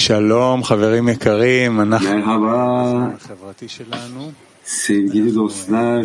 Merhaba sevgili dostlar.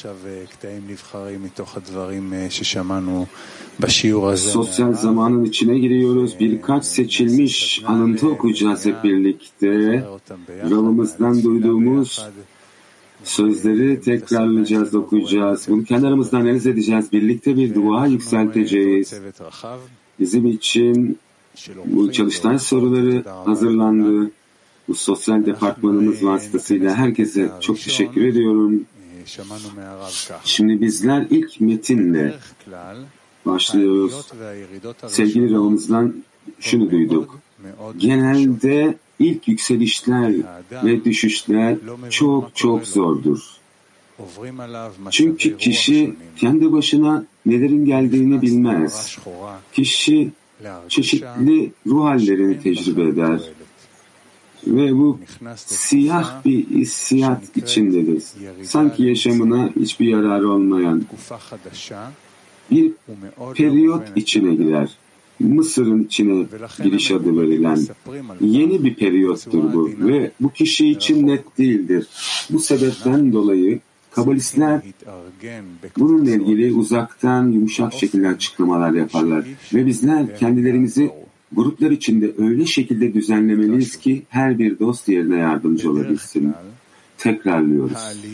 Sosyal zamanın içine giriyoruz. Birkaç seçilmiş alıntı okuyacağız hep birlikte. Ravımızdan duyduğumuz sözleri tekrarlayacağız, okuyacağız. Bunu kendi aramızda analiz edeceğiz. Birlikte bir dua yükselteceğiz. Bizim için bu çalıştay soruları hazırlandı. Bu sosyal departmanımız vasıtasıyla herkese çok teşekkür ediyorum. Şimdi bizler ilk metinle başlıyoruz. Sevgili Ravımızdan şunu duyduk. Genelde ilk yükselişler ve düşüşler çok zordur. Çünkü kişi kendi başına nelerin geldiğini bilmez. Kişi çeşitli ruh hallerini tecrübe eder. Ve bu siyah bir hissiyat içindedir. Sanki yaşamına hiçbir yararı olmayan bir periyot içine girer. Mısır'ın içine giriş adı verilen yeni bir periyottur bu ve bu kişi için net değildir. Bu sebepten dolayı Kabalistler bununla ilgili uzaktan yumuşak şekilde açıklamalar yaparlar ve bizler kendilerimizi gruplar içinde öyle şekilde düzenlemeliyiz ki her bir dost yerine yardımcı olabilsin. Tekrarlıyoruz.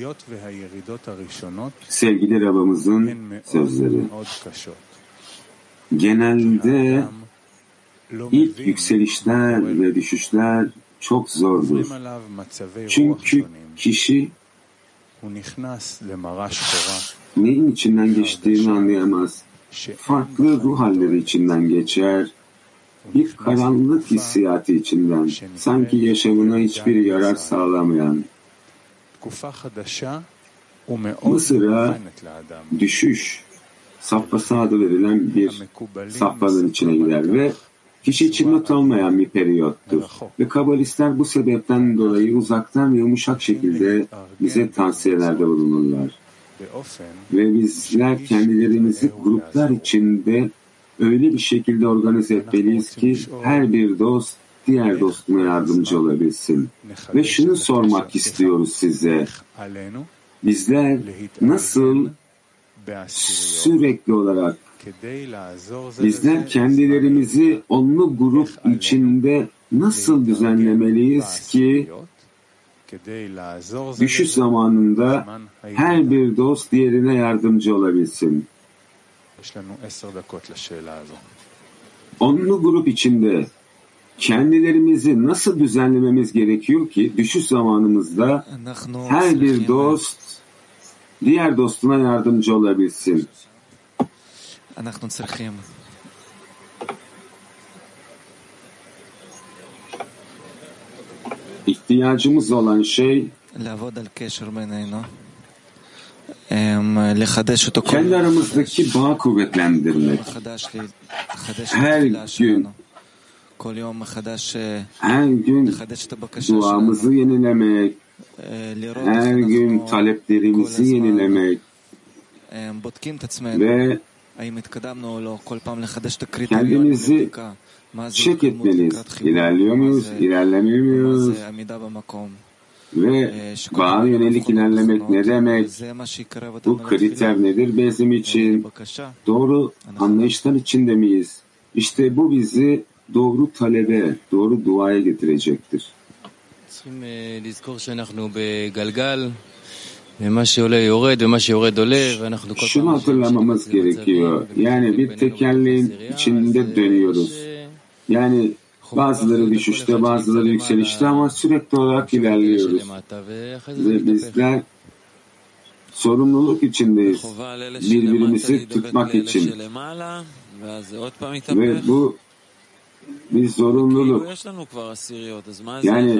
Sevgili Rab'ımızın sözleri. Genelde ilk yükselişler ve düşüşler çok zordur. Çünkü kişi neyin içinden geçtiğini anlayamaz. Farklı ruh halleri içinden geçer. Bir karanlık hissiyatı içinden, sanki yaşamına hiçbir yarar sağlamayan. Mısır'a düşüş, safhası adı verilen bir safhanın içine girer ve kişi için not olmayan bir periyottur. Ve Kabalistler bu sebepten dolayı uzaktan ve yumuşak şekilde bize tavsiyelerde bulunurlar. Ve bizler kendilerimizi gruplar içinde öyle bir şekilde organize etmeliyiz ki her bir dost diğer dostuna yardımcı olabilsin. Ve şunu sormak istiyoruz size. Bizler nasıl sürekli olarak bizler kendilerimizi onlu grup içinde nasıl düzenlemeliyiz ki düşüş zamanında her bir dost diğerine yardımcı olabilsin? Onlu grup içinde kendilerimizi nasıl düzenlememiz gerekiyor ki düşüş zamanımızda her bir dost diğer dostuna yardımcı olabilsin? İhtiyacımız olan şey kendi aramızdaki bağı kuvvetlendirmek. Her gün duamızı yenilemek, her gün taleplerimizi yenilemek ve kendimizi check etmeliyiz. İlerliyor muyuz, ilerlemiyor muyuz? Ve bağa yönelik ilerlemek ne demek? Bu kriter nedir bizim için? Doğru anlayışlar içinde miyiz? İşte bu bizi doğru talebe, doğru duaya getirecektir. Şunu hatırlamamız gerekiyor. Yani bir tekerleğin içinde dönüyoruz. Yani bazıları düşüşte, bazıları yükselişte ama sürekli olarak ilerliyoruz. Ve bizler sorumluluk içindeyiz. Birbirimizi tutmak için. Ve bu bir zorunluluk. Yani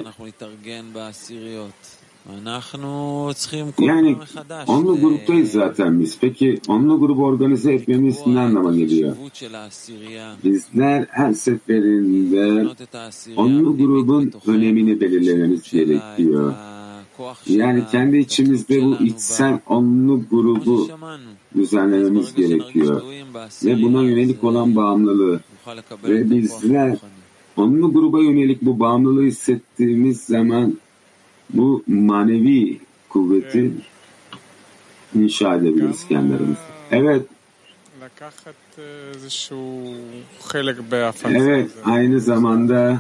onlu gruptayız zaten biz. Peki onlu grubu organize etmemiz ne anlama geliyor? Bizler her seferinde onlu grubun önemini belirlememiz gerekiyor. Yani kendi içimizde bu içsel onlu grubu düzenlememiz gerekiyor. Ve buna yönelik olan bağımlılığı. Ve bizler onlu gruba yönelik bu bağımlılığı hissettiğimiz zaman bu manevi kuvveti inşa edebiliriz kendi aramızda. Evet. Evet, aynı zamanda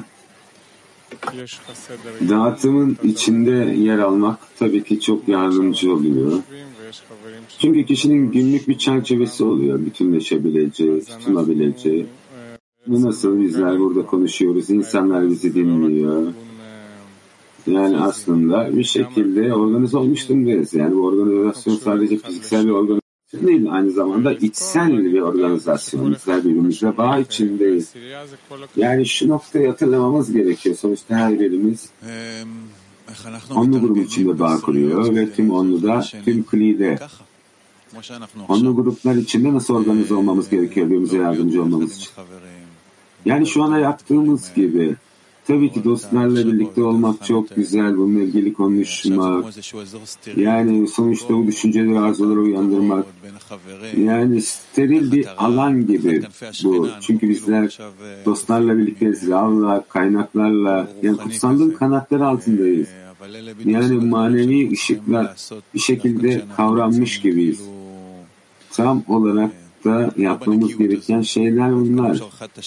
dağıtımın içinde yer almak tabii ki çok yardımcı oluyor. Çünkü kişinin günlük bir çerçevesi oluyor. Bütünleşebileceği, tutunabileceği. Nasıl bizler burada konuşuyoruz, insanlar bizi dinliyor. Yani aslında bir şekilde organize olmuş durumdayız. Yani bu organizasyon sadece fiziksel bir organizasyon değil, aynı zamanda içsel bir organizasyon. Bizler birbirimize bağ içindeyiz. Yani şu noktayı hatırlamamız gerekiyor. Sonuçta her birimiz onlu grubun içinde bağ kuruyor ve tüm onluda, tüm klide. Onlu gruplar içinde nasıl organize olmamız gerekiyor birbirimize yardımcı olmamız için. Yani şu anda yaptığımız gibi tabii ki dostlarla birlikte olmak çok güzel, bununla ilgili konuşmak, yani sonuçta bu düşünceleri, arzuları uyandırmak, yani steril bir alan gibi bu. Çünkü bizler dostlarla birlikteyiz, Rav'la, kaynaklarla, yani kutsallığın kanatları altındayız. Yani manevi ışıkla bir şekilde kavranmış gibiyiz. Tam olarak da yapmamız gereken şeyler bunlar.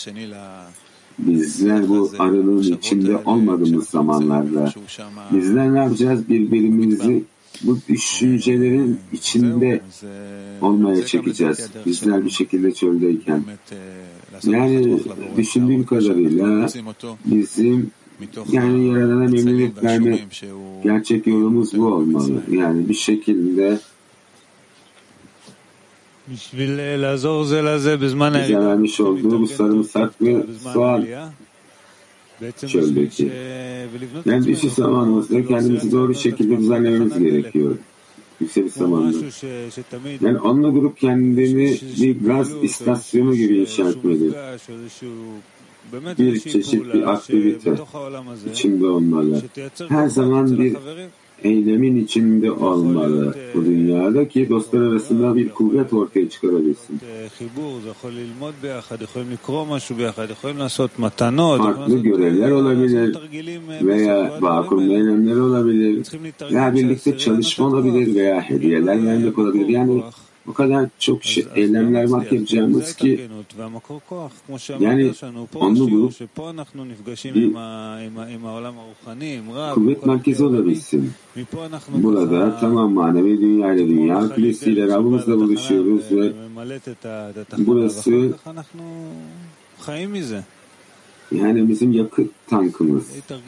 Bizler bu aralığın içinde olmadığımız zamanlarda bizler ne yapacağız? Birbirimizi bu düşüncelerin içinde olmaya çekeceğiz. Bizler bir şekilde çöldeyken. Yani düşündüğüm kadarıyla bizim yani Yaradan'a memnuniyet verme gerçek yolumuz bu olmalı. Yani bir şekilde bize vermiş olduğu bu sarımsak ve soğan çöldeki. Yani düşüş zamanımızda kendimizi doğru şekilde düzenlememiz gerekiyor. Yükseliş zamanında. Yani onunla grup kendini bir gaz istasyonu gibi inşa etmeli. Bir çeşit bir aktivite içinde olmalı. Her zaman bir eylemin içinde olmalı bu dünyada ki dostlar arasında bir kuvvet ortaya çıkarabilsin. Farklı görevler olabilir veya bağ kurma eylemleri olabilir veya birlikte çalışma olabilir veya hediyeler vermek olabilir. Yani o kadar çok eylemler var yapacağımız ki yani onlu grup bir kuvvet merkezi olabilsin. Burada tamam manevi dünya ile dünya kulesiyle Rabbimizle buluşuyoruz ve burası yani bizim yakıt tankımız.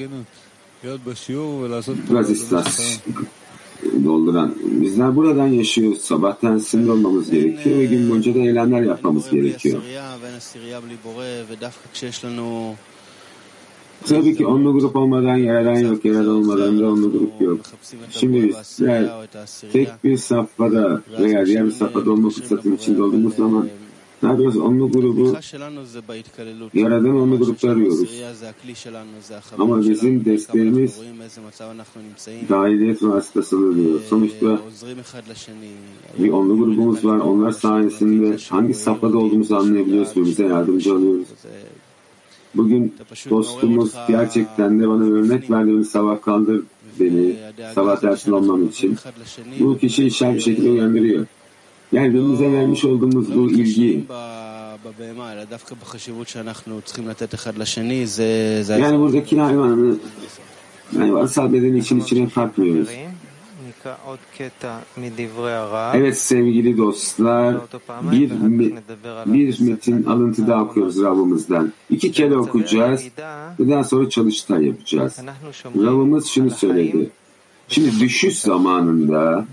Gaz istasyonu dolduran. Bizler buradan yaşıyoruz. Sabahtan sinir olmamız gerekiyor ve gün boyunca da eylemler yapmamız gerekiyor. Tabii ki onlu grup olmadan yaradan yok, yaradan olmadan da onlu grup yok. Şimdi bizler tek bir safhada veya diğer bir safhada olma fırsatının içinde olduğumuz zaman ne yapıyoruz? Onlu grubu, yaradan onlu grupta arıyoruz. Ama bizim desteğimiz dahiliyet vasıtasıdır diyor. Sonuçta bir onlu grubumuz var. Onlar sayesinde hangi safhada olduğumuzu anlayabiliyoruz ve bize yardımcı oluyoruz. Bugün dostumuz gerçekten de bana örnek verdiğini sabah kaldır beni, sabah dersinde olmam için. Bu kişi işaret bir şekilde uyandırıyor. Yani birbirimize vermiş olduğumuz bu ilgi. Yani buradaki hayvansal bedeni için içine katmıyoruz. Evet sevgili dostlar, bir metin alıntı daha okuyoruz Rabbimizden. 2 kere okuyacağız ve daha sonra çalıştay yapacağız. Rabbimiz şunu söyledi. Şimdi düşüş zamanında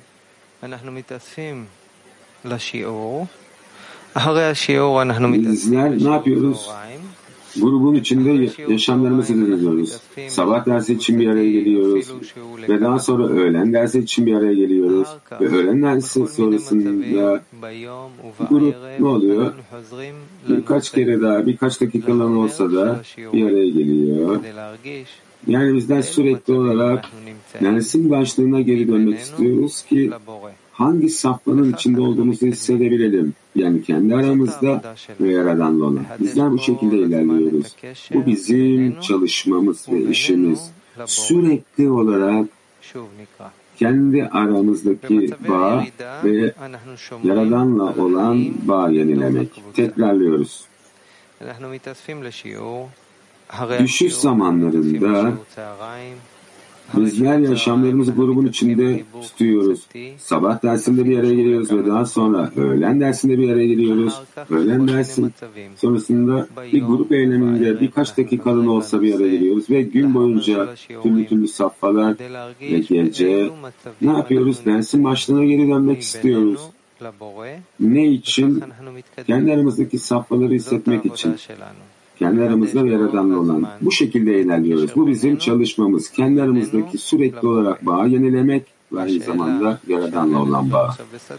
bizler ne yapıyoruz? Grubun içinde yaşamlarımızı dinliyoruz. Sabah dersi için bir araya geliyoruz. Ve daha sonra öğlen dersi için bir araya geliyoruz. Ve öğlen dersi sonrasında grup ne oluyor? Birkaç kere daha, birkaç dakikalığına olsa da bir araya geliyor. Yani bizler sürekli olarak dersin başlığına geri dönmek istiyoruz ki hangi safhanın içinde olduğumuzu hissedebilelim. Yani kendi aramızda ve Yaradan'la olan. Bizler bu şekilde ilerliyoruz. Bu bizim çalışmamız ve işimiz. Sürekli olarak kendi aramızdaki bağ ve Yaradan'la olan bağ yenilemek. Tekrarlıyoruz. Düşüş zamanlarında bizler yaşamlarımızı grubun içinde tutuyoruz. Sabah dersinde bir araya giriyoruz ve daha sonra öğlen dersinde bir araya giriyoruz. Öğlen dersin sonrasında bir grup eyleminde birkaç dakikalığına olsa bir araya giriyoruz ve gün boyunca türlü safhalar ve gece ne yapıyoruz? Dersin başlığına geri dönmek istiyoruz. Ne için? Kendi aramızdaki safhaları hissetmek için. Kendi aramızda ve Yaradan'la olan. Bu şekilde ilerliyoruz. Bu bizim çalışmamız. Kendi aramızdaki sürekli olarak bağı yenilemek ve aynı zamanda Yaradan'la olan bağ.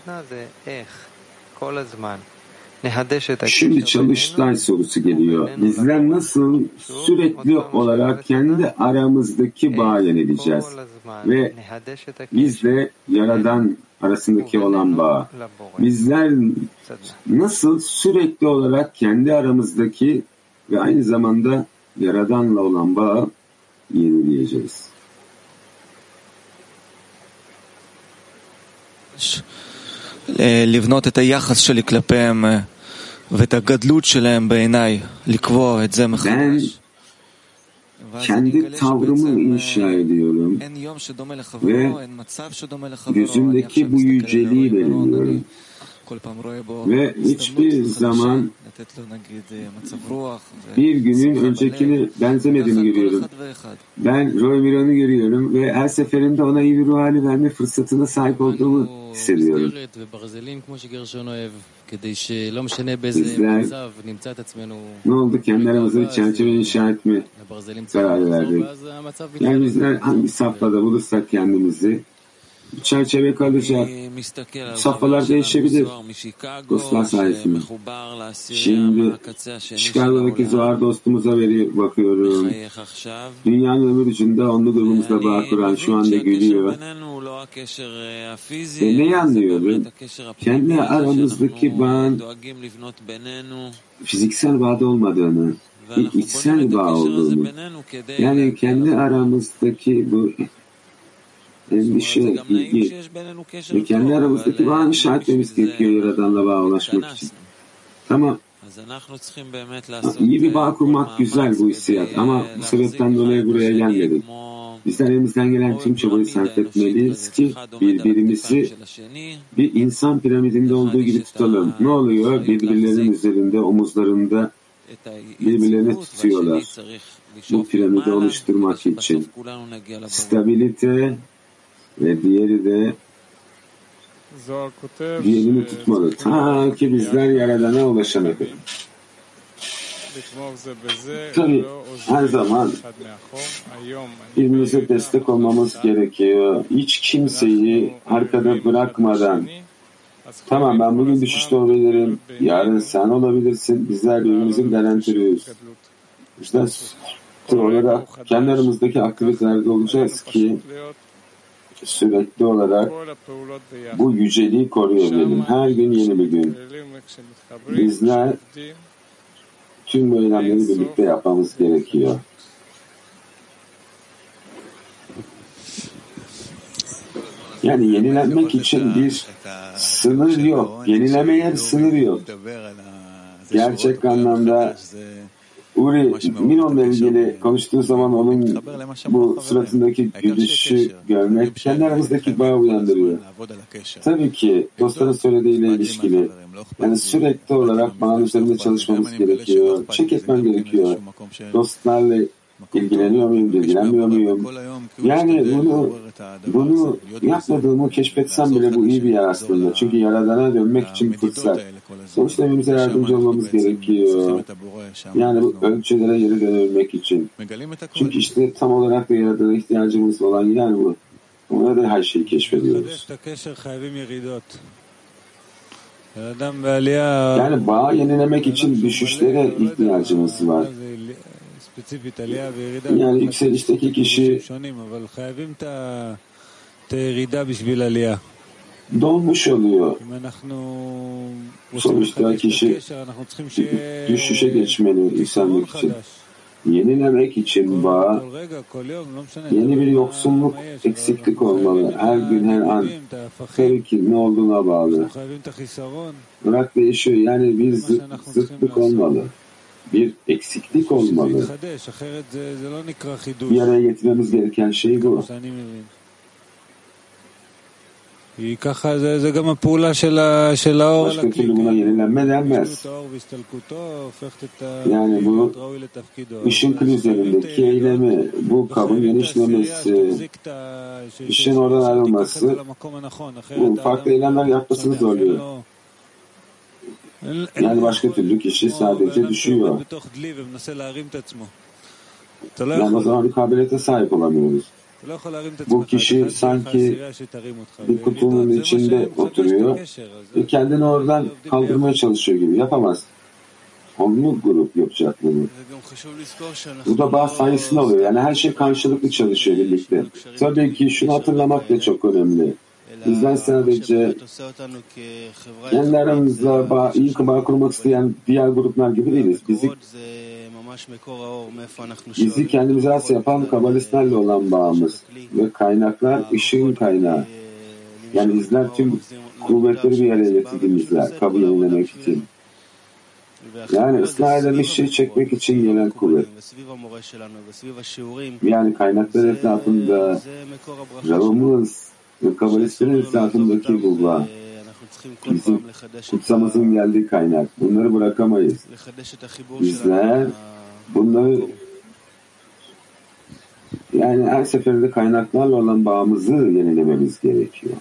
Şimdi çalıştay sorusu geliyor. Bizler nasıl sürekli olarak kendi aramızdaki bağı yenileyeceğiz? Ve bizle Yaradan arasındaki olan bağ. Bizler nasıl sürekli olarak kendi aramızdaki ve aynı zamanda Yaradan'la olan bağı yenileyeceğiz. לבנות את היחס שלי כלפיהם ואת הגדלות שלהם בעיניי, לקבוע את זה מחדש. Kendi tavrımı inşa ediyorum ve gözümdeki bu yüceliği belirliyorum. Ve hiçbir zaman bir günün öncekini benzemediğini görüyorum. Ben Roy Miron'u görüyorum ve her seferinde ona iyi bir ruh hali verme fırsatına sahip olduğumu hissediyorum. Bizler ne oldu? Kendi aramızda bir çerçeve inşa etme kararı verdik. Yani bizler hangi safhada bulursak kendimizi çerçeve kalacak. Safhalar değişebilir. Dostlar sayesinde. Şimdi Chicago'daki Zohar dostumuza bakıyorum. Dünyanın öbür ucunda onlu grubumuzla bağ kuran şu anda gülüyor. Ve neyi anlıyorum? Kendi aramızdaki bağın fiziksel bağda olmadığını, içsel bağ olduğunu, yani kendi aramızdaki bu endişe, ilgi ve kendi aramızdaki bağı inşa etmemiz gerekiyor Yaradan'la bağa ulaşmak için. Tamam. İyi bir bağ kurmak güzel bu hissiyat ama bu sebepten dolayı buraya gelmedik. Bizler elimizden gelen tüm çabayı sarf etmeliyiz ki birbirimizi bir insan piramidinde olduğu gibi tutalım. Ne oluyor? Birbirlerinin üzerinde, omuzlarında birbirlerini tutuyorlar. Bu piramidi oluşturmak için. Stabilite ve diğeri de diğerini tutmalı. Ta ki bizler Yaradan'a ulaşana kadar. Tabii her zaman birbirimize destek olmamız gerekiyor. Hiç kimseyi arkada bırakmadan. Tamam, ben bugün düşüşte olabilirim, yarın sen olabilirsin. Bizler birbirimizin garantörüyüz. İşte olarak kendi aramızdaki aktivitelerde olacağız ki sürekli olarak bu yüceliği koruyabilelim. Her gün yeni bir gün. Bizler tüm bu eylemleri birlikte yapmamız gerekiyor. Yani yenilenmek için bir sınır yok. Yenilemeye bir sınır yok. Gerçek anlamda Uri Miron'la ilgili konuştuğu zaman onun bu suratındaki gülüşü görmek kendi aramızdaki bağı uyandırıyor. Tabii ki dostların söylediğiyle ilişkili. Yani sürekli olarak bağın üzerinde çalışmamız gerekiyor. Check etmem gerekiyor. Dostlarla ilgileniyor muyum, ilgilenmiyor muyum? Yani bunu yapmadığımı keşfetsem bile bu iyi bir yer aslında. Çünkü Yaradan'a dönmek için bir fırsat. Sonuçta evimize yardımcı olmamız gerekiyor. Yani bu ölçülere geri dönebilmek için. Çünkü işte tam olarak da Yaradan'a ihtiyacımız olan yer bu. Ona da her şeyi keşfediyoruz. Yani bağı yenilemek için düşüşlere ihtiyacımız var. Yani yükselişteki kişi dolmuş oluyor. Sonuçta kişi düşüşe geçmeli insanlık için. Yenilemek için bağ, yeni bir yoksunluk, eksiklik olmalı. Her gün, her an. Tabii ki ne olduğuna bağlı. Bırak değişiyor. Yani bir zıtlık olmalı. Bir eksiklik olmalı. Bir araya getirmemiz gereken şey bu. Başka türlü buna yenilenme denmez. Yani bu ışın üzerindeki eylemi, bu kabın genişlemesi, ışın oradan ayrılması, bu farklı eylemler yapmasını zorluyor. Yani başka türlü kişi sadece düşüyor. Yani o zaman bir kabiliyete sahip olamıyoruz. Bu kişi sanki bir kutunun içinde oturuyor ve kendini oradan kaldırmaya çalışıyor gibi. Yapamaz. Onlu grup yapacak bunu. Bu da bağ sayesinde oluyor. Yani her şey karşılıklı çalışıyor birlikte. Tabii ki şunu hatırlamak da çok önemli. Bizden sadece kendi aramızda iyi bağ kurmak isteyen diğer gruplar gibi değiliz. Bizi kendimize has yapan kabalistlerle olan bağımız ve kaynaklar ışığın kaynağı. Yani bizler tüm kuvvetleri bir araya getirdiğimizler kabul edilemek için. Yani ıslah edilmiş şey çekmek için gelen kuvvet. Yani kaynaklar etrafında Ravımız ve kabalistlerin etrafındaki bu bağ. Bizim kutsamızın geldiği kaynak. Bunları bırakamayız. Bizler bunları yani her seferinde kaynaklarla olan bağımızı yenilememiz gerekiyor.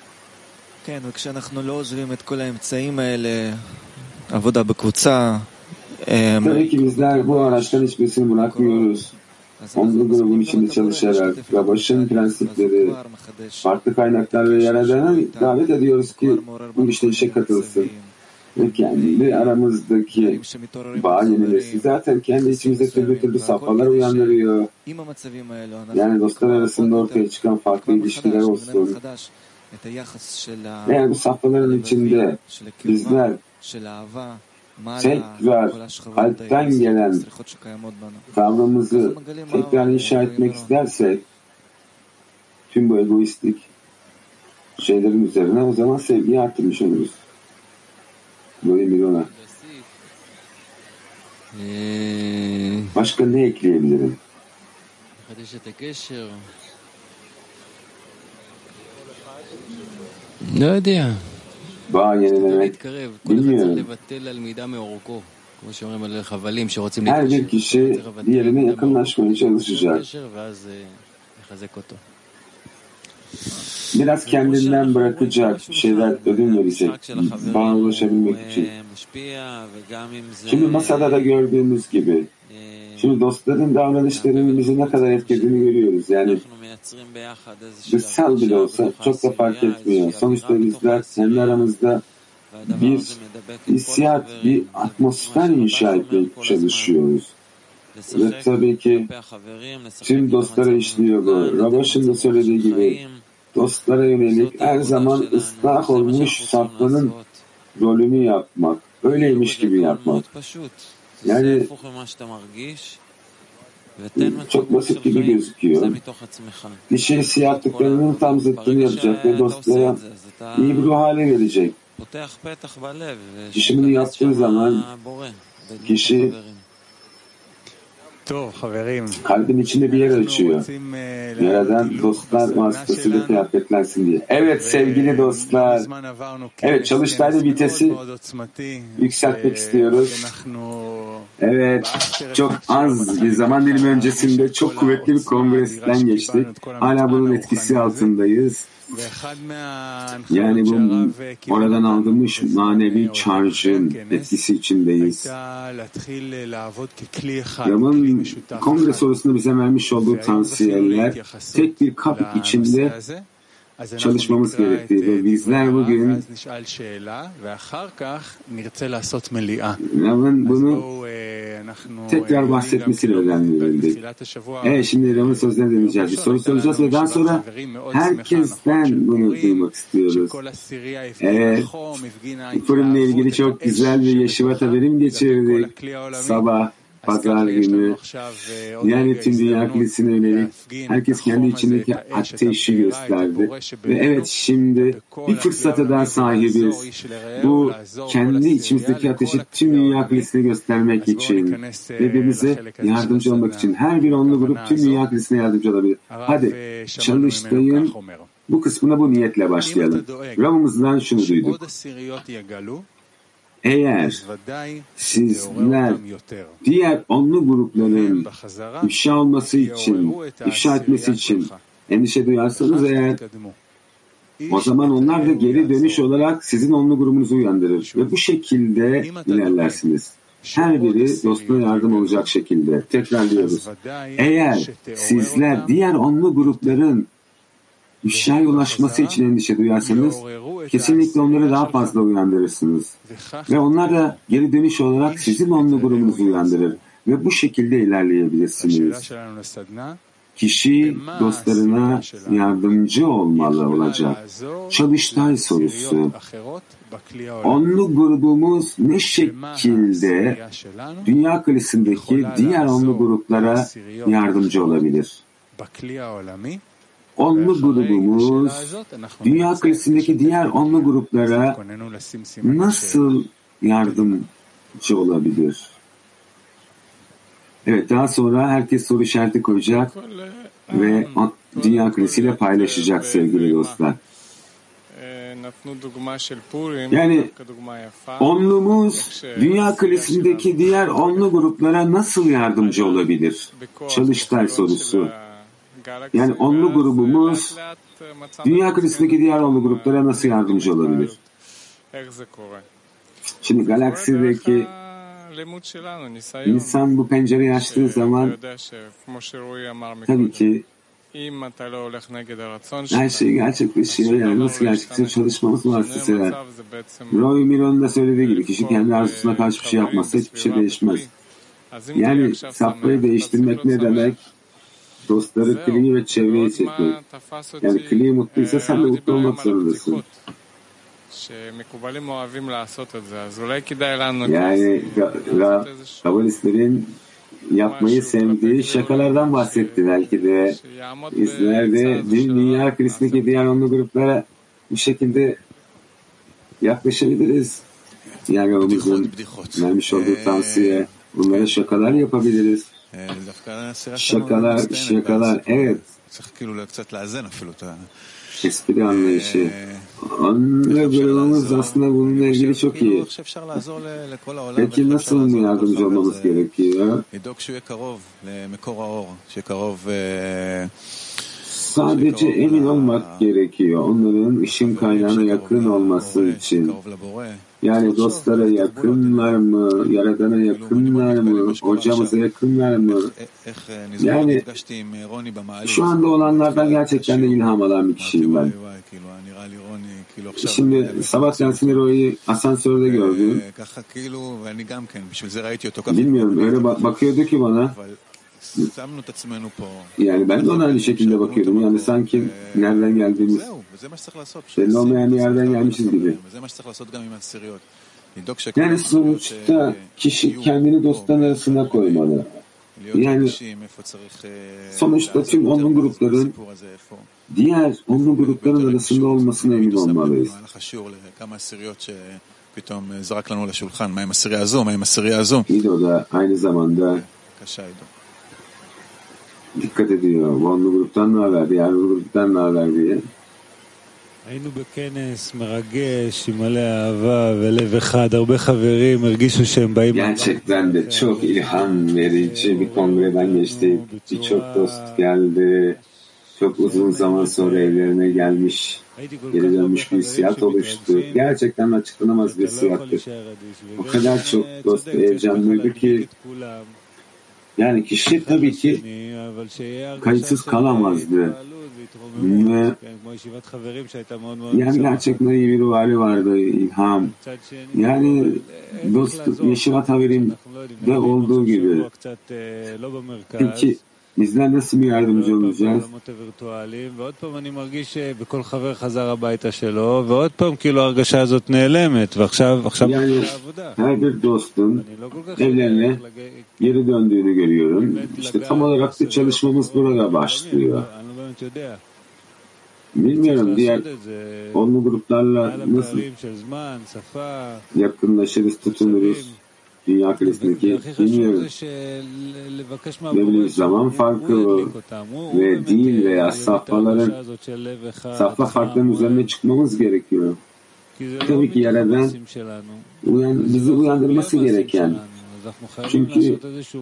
Tabii ki bizler bu araçtan hiçbirisini bırakmıyoruz. Onlu grubun içinde çalışarak Rabaş'ın prensipleri, farklı kaynaklar ve Yaradan'a davet ediyoruz ki bu işe katılsın. Ve kendi aramızdaki bağ yenilesin. Zaten kendi içimizde türlü safhalar uyandırıyor. Yani dostlar arasında ortaya çıkan farklı ilişkiler olsun. Eğer bu safhaların içinde bizler tekrar kalpten gelen tavrımızı tekrar inşa etmek istersek tüm bu egoistik şeylerin üzerine o zaman sevgiyi arttırmış oluruz. Böyle bir ona. Başka ne ekleyebilirim? Bağ yenilemek bilmiyorum. Her bir kişi diğerine yakınlaşmaya çalışacak. Biraz kendinden bırakacak, bir şeyler ödün verecek, bağa ulaşabilmek için. Şimdi masada da gördüğümüz gibi, şimdi dostların davranışlarının bizi ne kadar etkilediğini görüyoruz. Yani dışsal bile olsa çok da fark etmiyor. Sonuçta bizler kendi aramızda bir hissiyat, bir atmosfer inşa etmeye çalışıyoruz. Ve tabii ki tüm dostlara işliyor bu. Rabaş'ın da söylediği gibi dostlara yönelik her zaman ıslah olmuş safhanın rolünü yapmak. Öyleymiş gibi yapmak. Yani çok basit gibi gözüküyor. Kişi hissiyatlıklarının tam zıttını yapacak ve dostlara iyi bir ruh hale verecek. Kişi bunu yaptığı zaman kişi kalbin içinde bir yer açıyor. Yaradan dostlar vasıtasıyla kıyafetlensin diye. Evet sevgili dostlar. Evet çalıştayda vitesi yükseltmek istiyoruz. Evet çok az bir zaman dilimi öncesinde çok kuvvetli bir kongresinden geçtik. Hala bunun etkisi altındayız. Yani bu oradan aldığımız manevi charge'ın etkisi içindeyiz. Ram'ın kongre sonrasında bize vermiş olduğu tavsiyeler tek bir kap içinde çalışmamız gerektiği ve bizler bugün Ram'ın bunu tekrar bahsetmesiyle öğrenildi. Şimdi Ram'ın sözlerine dinleyeceğiz. Bir soru soracağız ve daha sonra herkesten bunu duymak istiyoruz. Fırınla ilgili çok güzel bir Yeşivat haberim geçirdik. Sabah, pazar günü. Yani tüm dünya kilisine yönelik herkes kendi içindeki ateşi gösterdi. Ve evet, şimdi bir fırsata daha sahibiz. Bu kendi içimizdeki ateşi tüm dünya kilisine göstermek için, birbirimize yardımcı olmak için. Her bir onlu grup tüm dünya kilisine yardımcı olabilir. Hadi çalıştayın bu kısmına bu niyetle başlayalım. Rab'ımızdan şunu duyduk. Eğer sizler diğer onlu grupların ifşa olması için, ifşa etmesi için endişe duyarsanız eğer, o zaman onlar da geri dönüş olarak sizin onlu grubunuzu uyandırır ve bu şekilde ilerlersiniz. Her biri dostuna yardım olacak şekilde. Tekrarlıyoruz. Eğer sizler diğer onlu grupların ifşaya ulaşması için endişe duyarsanız, kesinlikle onları daha fazla uyandırırsınız. Ve onlar da geri dönüş olarak sizin onlu grubunuzu uyandırır. Ve bu şekilde ilerleyebilirsiniz. Kişi dostlarına yardımcı olacak. Çalıştay sorusu. Onlu grubumuz ne şekilde dünya kilisindeki diğer onlu gruplara yardımcı olabilir? Onlu grubumuz dünya kilisindeki diğer onlu gruplara nasıl yardımcı olabilir? Evet, daha sonra herkes soru işareti koyacak ve dünya kilisiyle paylaşacak sevgili dostlar. Yani onluğumuz dünya kilisindeki diğer onlu gruplara nasıl yardımcı olabilir? Çalıştay sorusu. Yani onlu grubumuz dünya kilisindeki diğer onlu gruplara nasıl yardımcı olabilir? Şimdi galaksideki insan bu pencereyi açtığı zaman tabii ki her şey gerçekleşiyor. Yani nasıl gerçekleşiyor? Çalışmamız vasıtasıyla. Roy Miron'un da söylediği gibi kişi kendi arzusuna karşı bir şey yapmazsa hiçbir şey değişmez. Yani safhayı değiştirmek ne demek? Dostları, kliği ve çevreyi çekmek. Yani kliği mutluysa sen de mutlu olmak zorundasın. Yani kabalistlerin yapmayı sevdiği şakalardan bahsetti belki de. Bizler de dünya kilisindeki diğer onlu gruplara bu şekilde yaklaşabiliriz. Yani yolumuzun vermiş olduğu tavsiye, bunlara şakalar yapabiliriz. Şakalar, evet. Espri anlayışı. Onunla grubumuz aslında bununla ilgili çok iyi. Peki nasıl yardımcı olmamız gerekiyor? Sadece emin olmak gerekiyor. Onların ışın kaynağına yakın olması için. Yani dostlara yakınlar mı? Yaradana yakınlar mı? Hocamıza yakınlar mı? Yani şu anda olanlardan gerçekten de ilham alan bir kişiyim ben. Şimdi sabah dersinde Roy'u asansörde gördüm. Bilmiyorum, öyle bakıyordu ki bana. Yani ben de ona aynı şekilde bakıyordum. Yani sanki nereden geldiğimiz belli olmayan bir yerden gelmişiz gibi. Yani sonuçta kişi kendini dostların arasına koymalı. Yani sonuçta tüm onlu grupların diğer onlu grupların arasında olmasına emin olmalıyız. İdo da aynı zamanda dikkat ediyor. Bu onlu gruptan ne haber, diğer gruptan ne haber diye. היינו בכנס מרגש עם מלא אהבה ולב אחד, הרבה חברים הרגישו שהם bאים. Gerçekten de çok ilham verici bir kongreden geçtik. Birçok dost geldi. Çok uzun zaman sonra evlerine gelmiş, geri dönmüş bir hissiyat oluştu. Gerçekten açıklanamaz bir hissiyattı. O kadar çok dost heyecanlıydı ki Yani kişi tabii ki kayıtsız kalamazdı. Ve yani gerçekten iyi bir ruhali vardı, ilham. Yani dost Yeşivat Haverim'de olduğu gibi. Peki bizler nasıl bir yardımcı olacağız? Yani her bir dostun evlerine geri döndüğünü görüyorum. İşte tam olarak da çalışmamız burada başlıyor. Bilmiyorum diğer onlu gruplarla nasıl yakınlaşırız, tutunuruz dünya kalesindeki bilmiyorum. Böyle bir zaman farkı ve dil veya safhaların safha farklarının üzerine çıkmamız gerekiyor. Tabii ki Yaradan bizi uyandırması gereken. Çünkü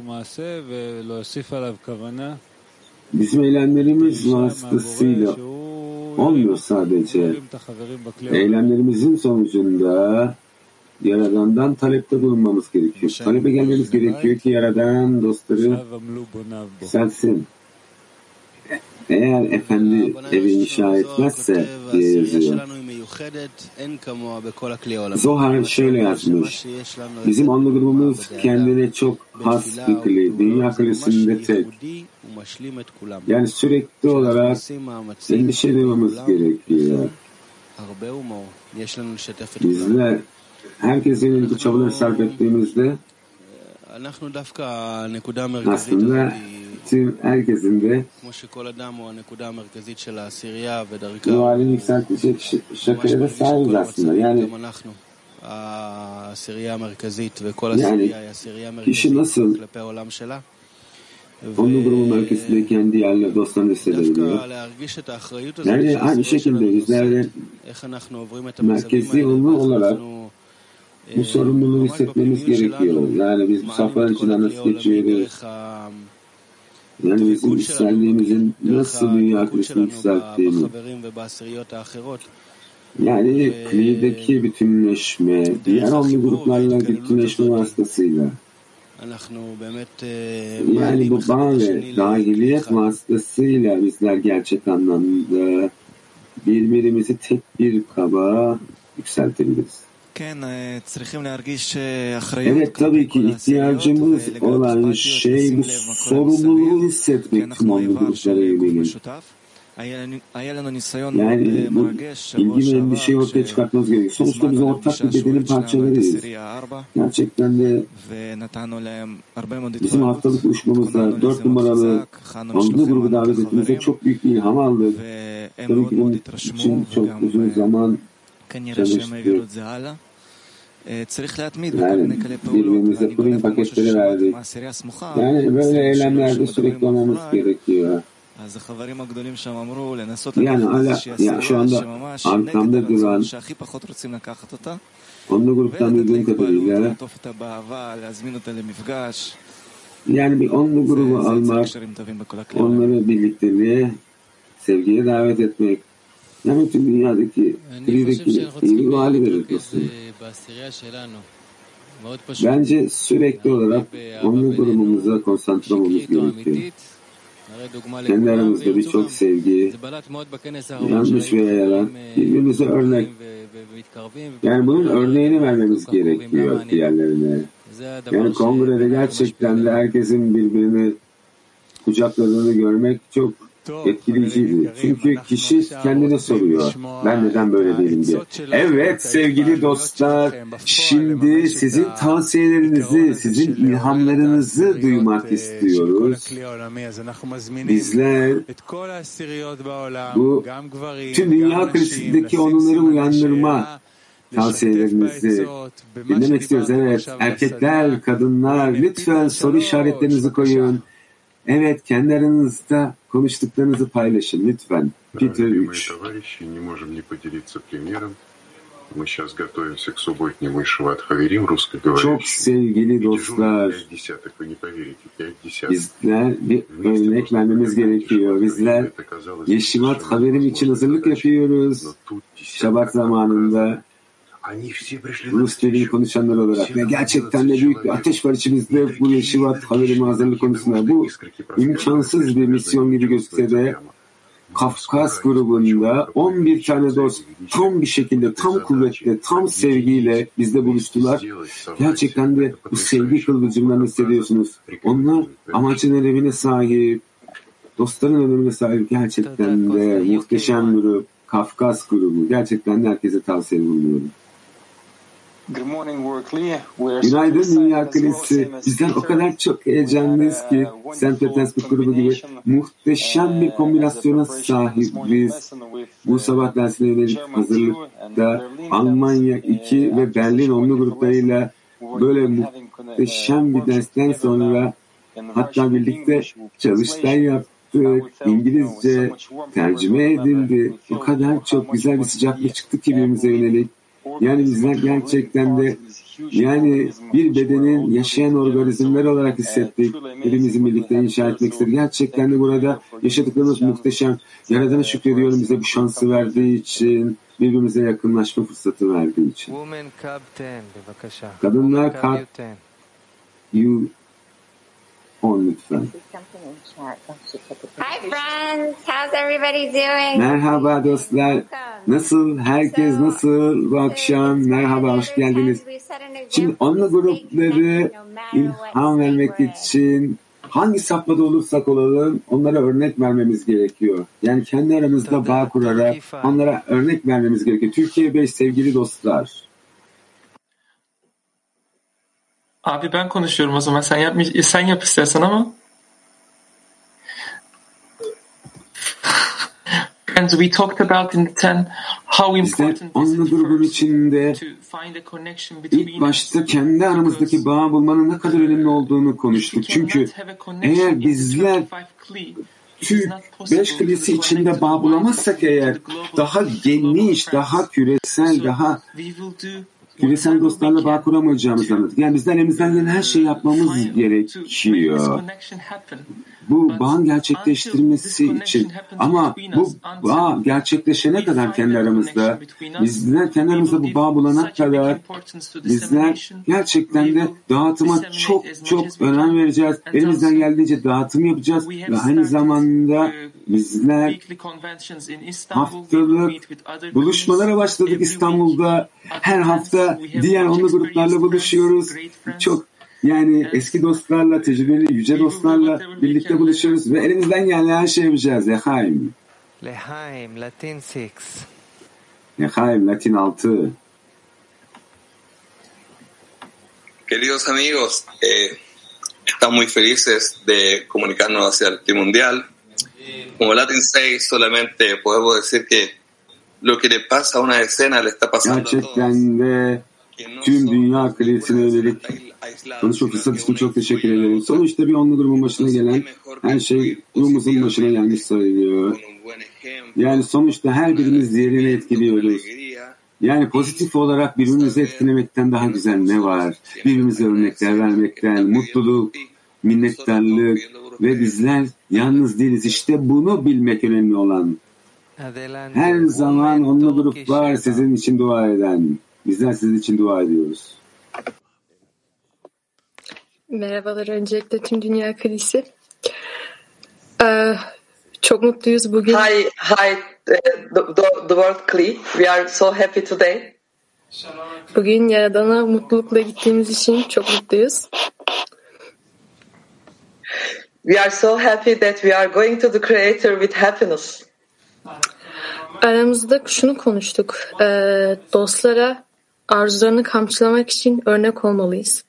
bizim eylemlerimiz vasıtasıyla olmuyor sadece. Eylemlerimizin sonucunda Yaradan'dan talepte bulunmamız gerekiyor. Talebe gelmemiz gerekiyor ki Yaradan dostları yükselsin. Eğer efendi evi inşa etmezse diye yazıyor. Zohar şöyle yazmış. Bizim onlu grubumuz kendine çok has bir kli. Dünya kalesinde tek. Yani sürekli olarak endişe duymamız gerekiyor. Bizler herkesin bu çabaları sarf ettiğimizde aslında tüm herkesin de ruhani yükseltecek şakaya da sahibiz aslında. Yani kişi nasıl onlu grubun merkezinde kendi yerle dostlarını hissedebiliyor. Yani aynı şekilde bizler de merkezi onlu olarak bu sorumluluğu hissetmemiz gerekiyor. Yani biz bu safhaların içinden nasıl geçiyoruz? Yani bizim yükseldiğimizin nasıl dünya kalesini yükselttiğini. Yani klideki bütünleşme, diğer onlu gruplarla bütünleşme vasıtasıyla. Yani bu bağ ve dahiliyet vasıtasıyla bizler gerçek anlamda birbirimizi tek bir kaba yükseltebiliriz. Evet, tabii ki ihtiyacımız olan şey bu sorumluluğu hissetmek tüm onlu gruplara yönelik. Yani bu ilgi ve endişeyi ortaya çıkartmamız gerekiyor. Sonuçta biz ortak bir bedenin parçalarıyız. Gerçekten de bizim haftalık buluşmamızda 4 numaralı onlu grubu davet ettiğimizde çok büyük bir ilham aldık. Tabii ki bunun için çok uzun zaman çalıştık. Yani birbirimize prim paketleri verdik. Yani böyle eylemlerde sürekli olmamız gerekiyor. Yani şu anda arkamda duran onlu gruptan duyduğum kadarıyla yani bir onlu grubu almak, onları birlikteliğe, sevgiye davet etmek, yani tüm dünyadaki klideki iyi bir hali verir dostum. Bence sürekli olarak onlu grubumuza konsantre olmamız gerekiyor. Kendi aramızda birçok sevgi, yanlış veya yalan, birbirimize örnek. Yani bunun örneğini vermemiz gerekiyor diğerlerine. Yani kongrede gerçekten de herkesin birbirini kucakladığını görmek çok etkileyiciydi. Çünkü kişi kendine soruyor, ben neden böyle değilim diye. Evet sevgili dostlar, şimdi sizin tavsiyelerinizi, sizin ilhamlarınızı duymak istiyoruz. Bizler bu tüm dünya kalesindeki onları uyandırma tavsiyelerinizi dinlemek istiyoruz. Evet, erkekler, kadınlar, lütfen soru işaretlerinizi koyun. Evet, kendi aranızda konuştuklarınızı paylaşın lütfen. Peter 3. Çok sevgili dostlar, bizler bir örnek vermemiz gerekiyor. Bizler Yeşivat Haverim için hazırlık yapıyoruz. Şabat zamanında Rus dilini konuşanlar olarak ve gerçekten de büyük bir ateş var içimizde bu Yeşivat Haverim hazırlık konusunda. Bu imkansız bir misyon gibi gözükse de Kafkas grubunda 11 tane dost tam bir şekilde, tam kuvvetle, tam sevgiyle bizde buluştular. Gerçekten de bu sevgi kıvılcımlarını hissediyorsunuz. Onlar amacın önemine sahip, dostların önemine sahip, gerçekten de muhteşem grup, Kafkas grubu. Gerçekten de herkese tavsiye bulunuyorum. Günaydın Dünya Kilisi. Bizler o kadar çok heyecanlıyız ki St. Petersburg grubu gibi muhteşem bir kombinasyona sahibiz. Bu sabah dersine yönelik hazırlıkta Almanya 2 ve Berlin 10'lu gruplarıyla böyle muhteşem bir dersten sonra hatta birlikte çalıştay yaptık. İngilizce tercüme edildi. O kadar çok güzel bir sıcaklık çıktı ki birbirimize yönelik. Yani bizler gerçekten de bir bedenin yaşayan organizmler olarak hissettik. Hepimizin birlikte inşa etmek istedik. Gerçekten de burada yaşadıklarımız muhteşem. Yaradan'a şükrediyorum bize bu şansı verdiği için, birbirimize yakınlaşma fırsatı verdiği için. Kadınlar kalp lütfen. Hi friends, how's everybody doing? Merhaba dostlar. Nasıl? Herkes nasıl bu akşam? Merhaba, hoş geldiniz. Şimdi onunla grupları ilham vermek için hangi safhada olursak olalım onlara örnek vermemiz gerekiyor. Yani kendi aramızda bağ kurarak onlara örnek vermemiz gerekiyor. Türkiye 5 sevgili dostlar. Abi ben konuşuyorum o zaman. Sen yap istersen ama. Friends, we talked about in the 10 how important is it grubun içinde ilk başta kendi aramızdaki bağ bulmanın ne kadar önemli olduğunu konuştuk. Çünkü eğer bizler Türk 5 kilisi içinde bağ bulamazsak eğer daha geniş, daha küresel, daha küresel dostlarla bağ kuramayacağımızı anladık. Yani bizden elimizden gelen her şeyi yapmamız gerekiyor. Bu bağın gerçekleştirmesi için. Ama bu bağ gerçekleşene kadar kendi aramızda, bizler kendi aramızda bu bağ bulana kadar bizler gerçekten de dağıtıma çok önem vereceğiz. Elimizden geldiğince dağıtım yapacağız ve aynı zamanda bizler haftalık buluşmalara başladık İstanbul'da. Her hafta diğer onlu gruplarla buluşuyoruz. Eski dostlarla, tecrübeli, yüce dostlarla birlikte buluşuyoruz ve elimizden gelen her şeyi yapacağız. Lehaim, Latin 6. Lehaim, Latin 6. Queridos amigos, estamos muy felices de comunicarnos hacia el Team Mundial. Como Latin 6 solamente podemos decir que lo que le pasa a una escena le está pasando a todos. Gerçekten de tüm dünya kraliçesine yönelik konuşma fırsatı için çok teşekkür ederim. Sonuçta bir onlu grubun başına gelen her şey grubumuzun başına gelmiş sayılıyor. Yani sonuçta her birimiz diğerini etkiliyoruz. Yani pozitif olarak birbirimizi etkilemekten daha güzel ne var? Birbirimize örnekler vermekten, mutluluk, minnettarlık ve bizler yalnız değiliz. İşte bunu bilmek önemli olan. Her zaman onlu grup var sizin için dua eden. Bizler sizin için dua ediyoruz. Merhabalar öncelikle tüm Dünya Kilisi. Çok mutluyuz bugün. Hi, the World Kli. We are so happy today. Bugün Yaradan'a mutlulukla gittiğimiz için çok mutluyuz. We are so happy that we are going to the Creator with happiness. Aramızda şunu konuştuk. Dostlara arzularını kamçılamak için örnek olmalıyız.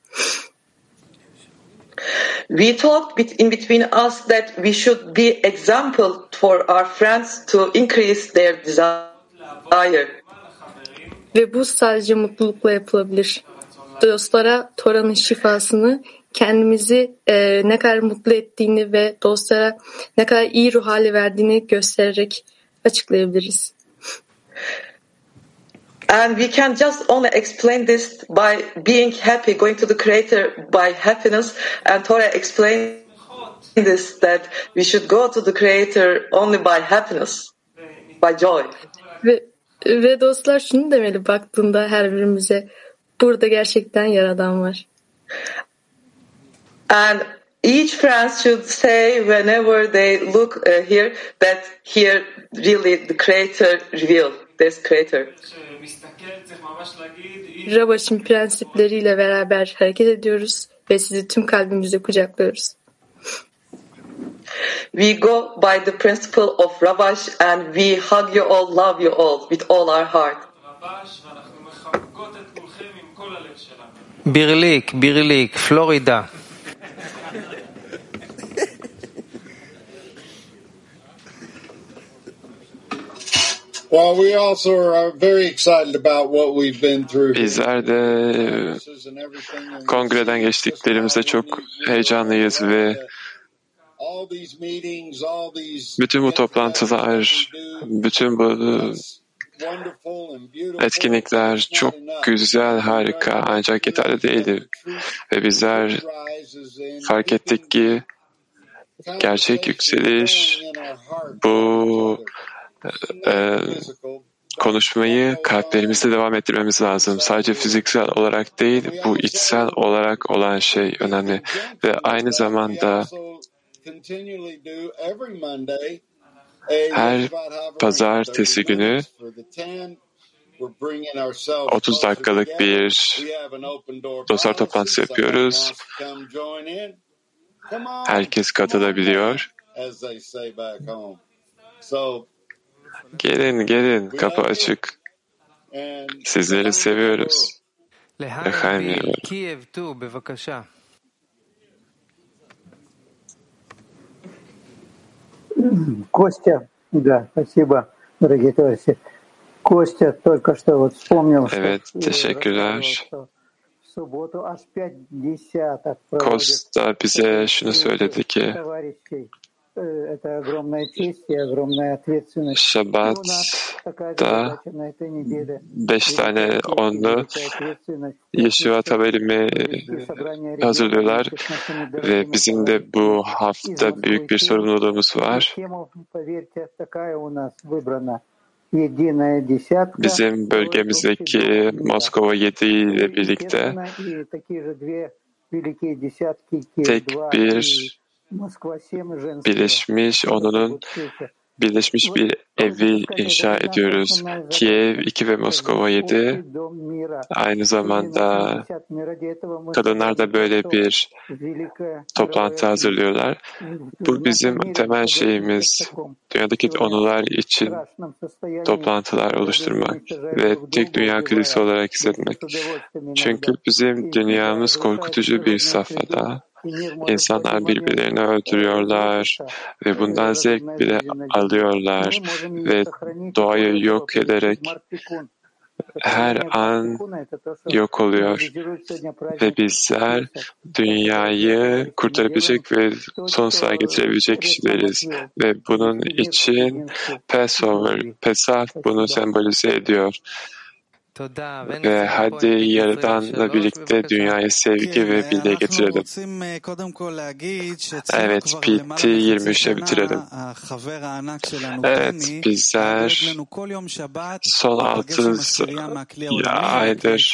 We talked in between us that we should be example for our friends to increase their desire. Ve bu sadece mutlulukla yapılabilir. Dostlara Tora'nın şifasını, kendimizi ne kadar mutlu ettiğini ve dostlara ne kadar iyi ruh hali verdiğini göstererek açıklayabiliriz. And we can just only explain this by being happy, going to the Creator by happiness. And Torah explained this, that we should go to the Creator only by happiness, by joy. Ve dostlar şunu demeli baktığında her birimize, burada gerçekten Yaradan var. And each friend should say whenever they look here that here really the Creator revealed. There's Creator. Rabaş'ın prensipleriyle beraber hareket ediyoruz ve sizi tüm kalbimizle kucaklıyoruz. We go by the principle of Rabash and we hug you all, love you all with all our heart. Birlik, Florida. Well, we also are very excited about what we've been through. Bizler de kongreden geçtiklerimizde çok heyecanlıyız ve bütün bu toplantılar, bütün bu etkinlikler çok güzel, harika ancak yeterli değildi. Ve bizler fark ettik ki gerçek yükseliş bu konuşmayı kalplerimizde devam ettirmemiz lazım. Sadece fiziksel olarak değil, bu içsel olarak olan şey önemli. Ve aynı zamanda her pazartesi günü 30 dakikalık bir dostlar toplantısı yapıyoruz. Herkes katılabiliyor. Gelin, kapı açık. Sizleri seviyoruz. Лехаим. Костя, да, спасибо, дорогие товарищи. Костя только что вот вспомнил, evet, teşekkürler. Costa bize şunu söyledi ki Şabat'ta 5 tane onlu Yeshua Taberimi hazırlıyorlar ve bizim de bu hafta büyük bir sorumluluğumuz var. Bizim bölgemizdeki Moskova 7 ile birlikte tek bir birleşmiş bir evi inşa ediyoruz. Kiev 2 ve Moskova 7. Aynı zamanda kadınlar da böyle bir toplantı hazırlıyorlar. Bu bizim temel şeyimiz. Dünyadaki onular için toplantılar oluşturmak ve tek dünya kilisi olarak hissetmek. Çünkü bizim dünyamız korkutucu bir safhada. İnsanlar birbirlerini öldürüyorlar ve bundan zevk bile alıyorlar ve doğayı yok ederek her an yok oluyor ve bizler dünyayı kurtarabilecek ve sonsuza getirebilecek kişileriz ve bunun için Pesach bunu sembolize ediyor. Ve hadi Yaradan'la birlikte dünyaya sevgi ve birliğe getirelim. Evet, PT 23'e bitirelim. Evet, bizler son 6 aydır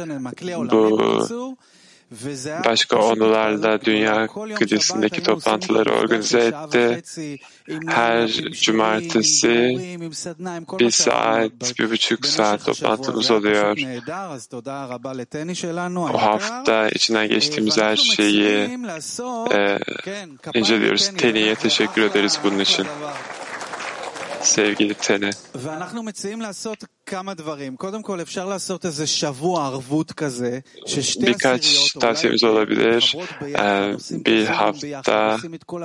bu başka onularla Dünya Kilisesi'ndeki toplantıları organize etti. Her cumartesi 1 saat, 1,5 saat toplantımız oluyor. O hafta içinden geçtiğimiz her şeyi inceliyoruz. Teni'ye teşekkür ederiz bunun için. Sevgili Teni. Birkaç tavsiyemiz olabilir. Bir hafta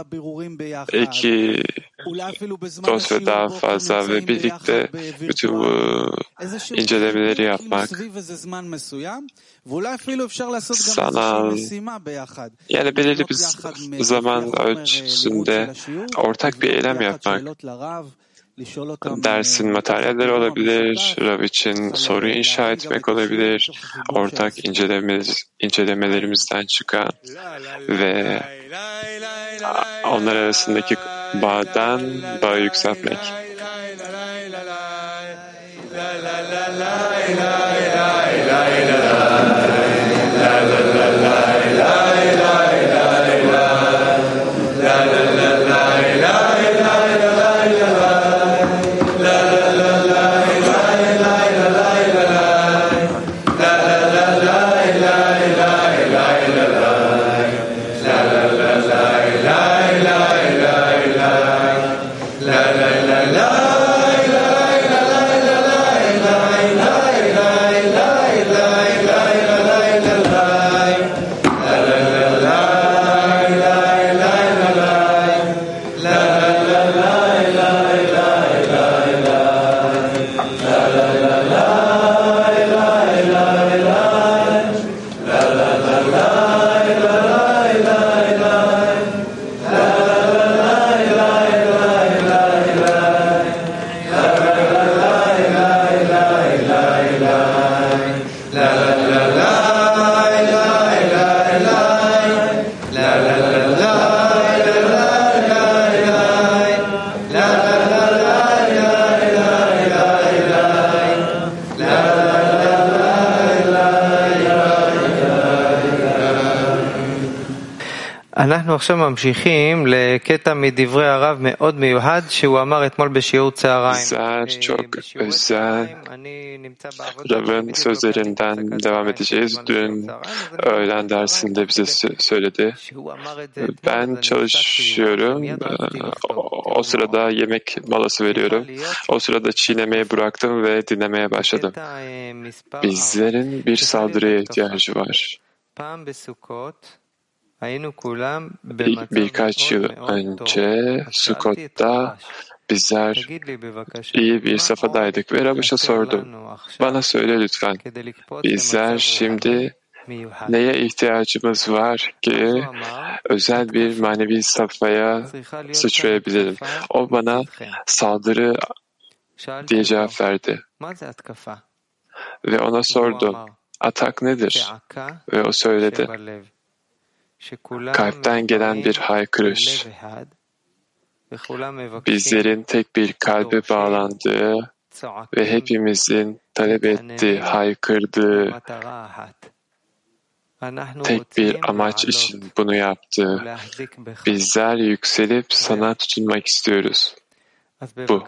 2 dost ve daha fazla ve birlikte bütün bu incelemeleri yapmak. Sanal, yani belirli bir zaman ölçüsünde ortak bir eylem yapmak. Dersin materyalleri olabilir, Rav için soru inşa etmek olabilir, ortak incelemelerimizden çıkan ve onlar arasındaki bağı yükseltmek. אנחנו עכשיו ממשיכים לקטע מדברי הרב מאוד מיוחד שהוא אמר אתמול בשיעור צהריים. Çok özel Rav'ın sözlerinden devam edeceğiz. Dün öğlen dersinde bize söyledi. Ben çalışıyorum. O sırada yemek molası veriyorum. O sırada çiğnemeyi bıraktım ve dinlemeye başladım. Bizlerin bir saldırıya ihtiyacı var. Birkaç yıl önce Sukkot'ta bizler iyi bir safhadaydık ve Rab'ış'a sordum. Bana söyle lütfen. Bizler şimdi neye ihtiyacımız var ki özel bir manevi safhaya sıçrayabilirim? O bana saldırı diye cevap verdi. Ve ona sordum. Atak nedir? Ve o söyledi. Kalpten gelen bir haykırış. Bizlerin tek bir kalbe bağlandığı ve hepimizin talep ettiği, haykırdığı tek bir amaç için bunu yaptı. Bizler yükselip sana tutunmak istiyoruz. Bu.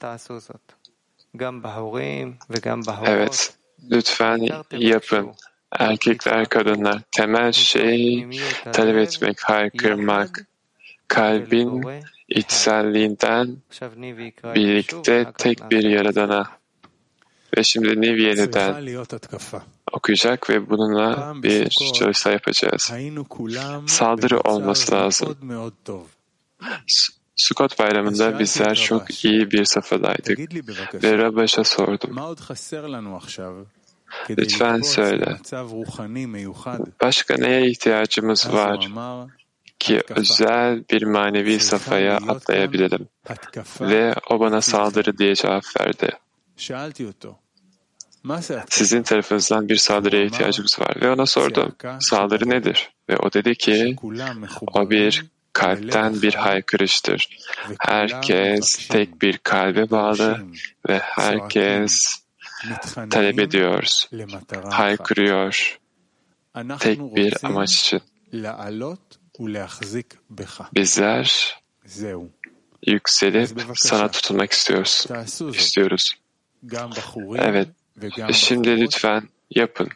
Evet, lütfen yapın. Erkekler, kadınlar, temel şey talep etmek, haykırmak, kalbin içselliğinden birlikte tek bir Yaradan'a. Ve şimdi Niv yeniden okuyacak ve bununla bir çalışma yapacağız. Saldırı olması lazım. Sukkot bayramında bizler çok iyi bir safhadaydık ve Rab'ış'a sordum. Lütfen söyle. Başka neye ihtiyacımız var ki özel bir manevi safhaya atlayabilirim? Ve o bana saldırı diye cevap verdi. Sizin tarafınızdan bir saldırıya ihtiyacımız var. Ve ona sordum. Saldırı nedir? Ve o dedi ki o bir kalpten bir haykırıştır. Herkes tek bir kalbe bağlı ve herkes talep ediyoruz, haykırıyor tek bir amaç için. Bizler yükselip sana tutunmak istiyoruz. Evet, şimdi lütfen yapın.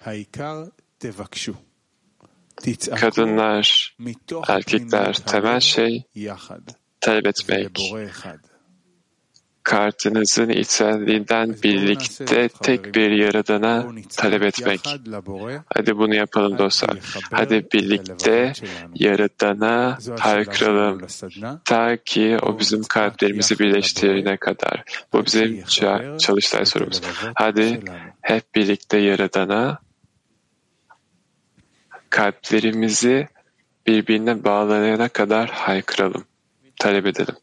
Kadınlar, erkekler, temel şey talep etmek. Kartınızın içselliğinden birlikte tek bir Yaradan'a talep etmek. Hadi bunu yapalım dostlar. Hadi birlikte Yaradan'a haykıralım. Ta ki o bizim kalplerimizi birleştirene kadar. Bu bizim çalıştay sorumuz. Hadi hep birlikte Yaradan'a kalplerimizi birbirine bağlayana kadar haykıralım. Talep edelim.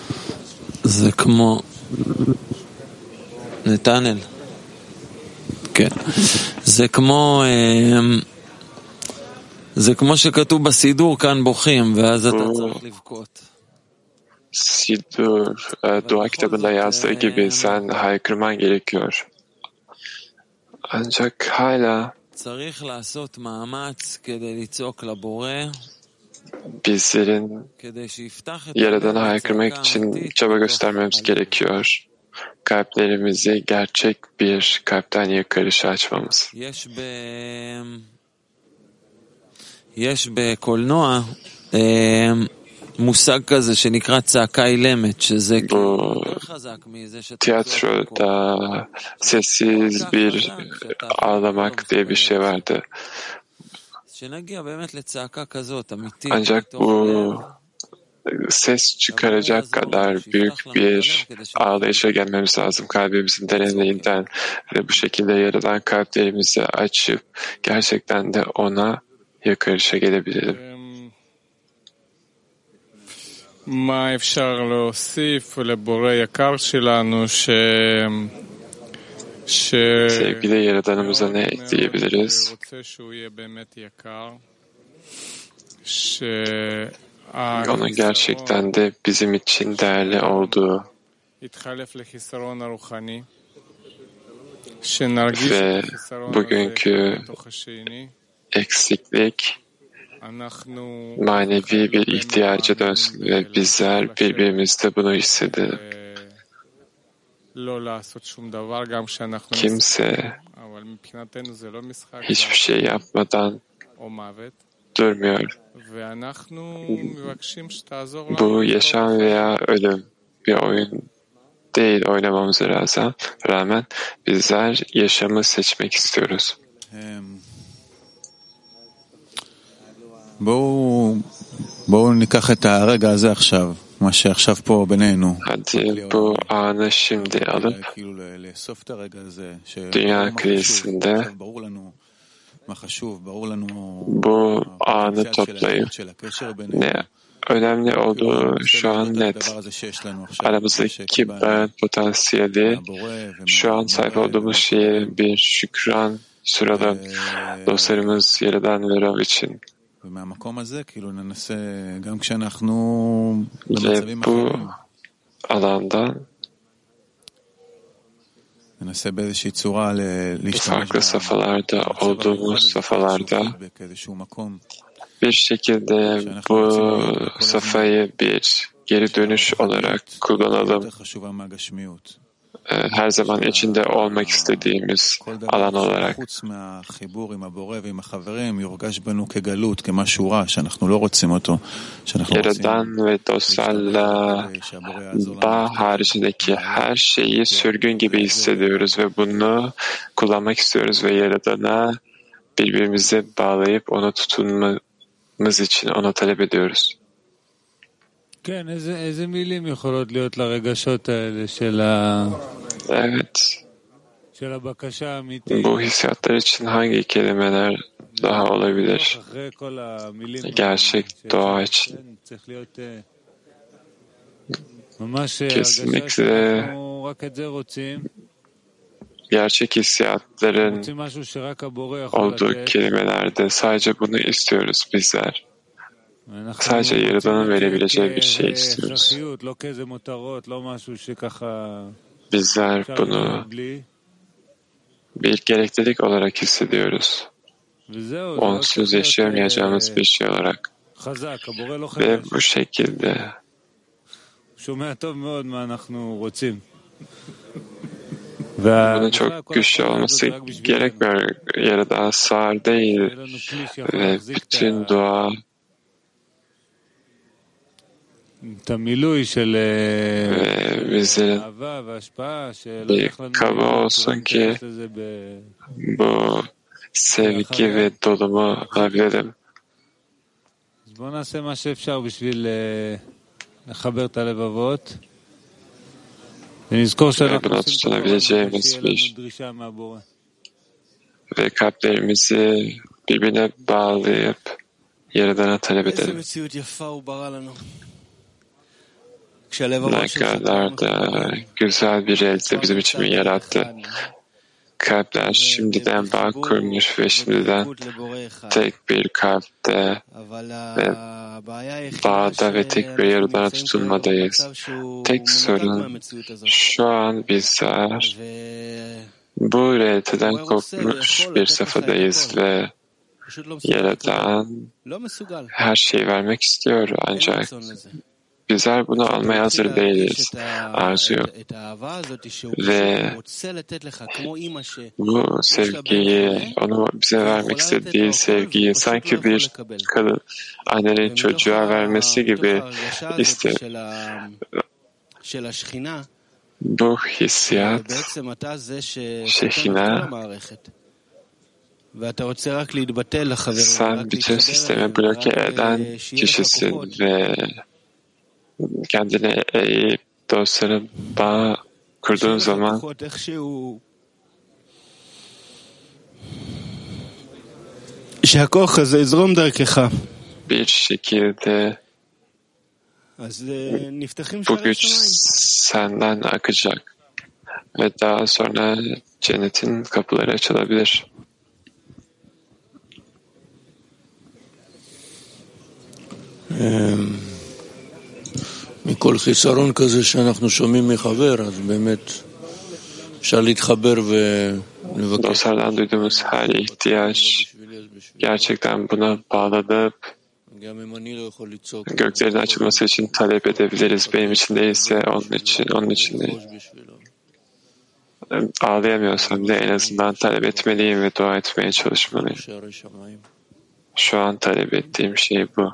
זה כמו נתנאל, זה כמו שכתוב בסידור, כאן בוכים, ואז אתה צריך לבכות. Sidur, dua kitabında yazdığı gibi sen haykırman gerekiyor. Ancak hala bizlerin Yaradan'a haykırmak için çaba göstermemiz gerekiyor. Kalplerimizi gerçek bir kalpten yakarışa açmamız. יש בקולנוע מושג כזה שנקרא צעקה אילמת, שזה יותר חזק מזה tiyatroda sessiz bir ağlamak diye bir şey vardı. Ancak bu ses çıkaracak kadar büyük bir ağlayışa gelmemiz lazım kalbimizin derinliğinden ve bu şekilde yaradan kalplerimizi açıp gerçekten de ona yakarışa gelebilelim. מה אפשר להוסיף לבורא יקר שלנו sevgili Yaradanımıza ne ekleyebiliriz? Onun gerçekten de bizim için değerli olduğu ve bugünkü eksiklik manevi bir ihtiyaca dönsün ve bizler birbirimizde bunu hissedelim. Kimse hiçbir şey yapmadan durmuyor. Bu yaşam veya ölüm bir oyun değil oynamamıza rağmen bizler yaşamı seçmek istiyoruz. בואו ניקח את הרגע הזה עכשיו, מה שעכשיו פה בינינו. Hadi bu anı şimdi alıp dünya krizinde bu anı toplayıp ne önemli olduğu şu an net. Aramızdaki potansiyeli şu an sahip olduğumuz şeye bir şükran sıralım dostlarımız Yaradan ve Rav için. Ve bu alandan farklı safhalarda olduğumuz safhalarda bir şekilde bu safhayı bir geri dönüş olarak kullanalım. Her zaman içinde olmak istediğimiz alan olarak. Yaradan ve dostlarla bağ haricindeki her şeyi sürgün gibi hissediyoruz ve bunu kullanmak istiyoruz ve Yaradan'a birbirimize bağlayıp ona tutunmamız için ona talep ediyoruz. כן, איזה מילים יכולות להיות לרגשות האלה Evet. של הבקשה האמיתית. Bu hissiyatlar için hangi kelimeler daha olabilir? Gerçek dua için. Kesinlikle gerçek hissiyatların olduğu kelimelerde sadece bunu istiyoruz bizler. Sadece Yaradan'ın verebileceği bir şey istiyoruz. Bizler bunu bir gereklilik olarak hissediyoruz. Onsuz yaşayamayacağımız bir şey olarak. Ve bu şekilde bunun çok güçlü olması gerekmiyor. Yaradan sağır değil ve bütün dua bizlerin bir kaba olsun ki bu sevgi ve dolumu alabilelim. Buna tutunabileceğimiz bir ve kalplerimizi birbirine bağlayıp Yaradan'a talep edelim. Ne kadar da güzel bir realize bizim için yarattı. kalpler şimdiden bağ kurmuş ve şimdiden tek bir kalpte ve bağda ve tek bir Yaradan'a tutunmadayız. Tek sorun şu an bizler bu realiteden kopmuş bir safhadayız ve Yaradan her şeyi vermek istiyor ancak bizler bunu almaya hazır değiliz. Arzu yok. Ve bu sevgiyi, onu bize vermek istediği sevgiyi sanki bir kadın annenin çocuğa vermesi gibi istiyor. Bu hissiyat, Şehina, sen bütün sistemi bloke eden kişisin ve kendine eğip dostlara bağ kurduğun zaman bir şekilde bu güç senden akacak ve daha sonra cennetin kapıları açılabilir. מכל חיסרון כזה שאנחנו שומעים מחבר, אז באמת אפשר להתחבר ולבקש. Dostlardan duyduğumuz her ihtiyaç gerçekten buna bağlanıp göklerin açılması için talep edebiliriz. Benim için değilse onun için değil. Ağlayamıyorsam da en azından talep etmeliyim ve dua etmeye çalışmalıyım. Şu an talep ettiğim şey bu.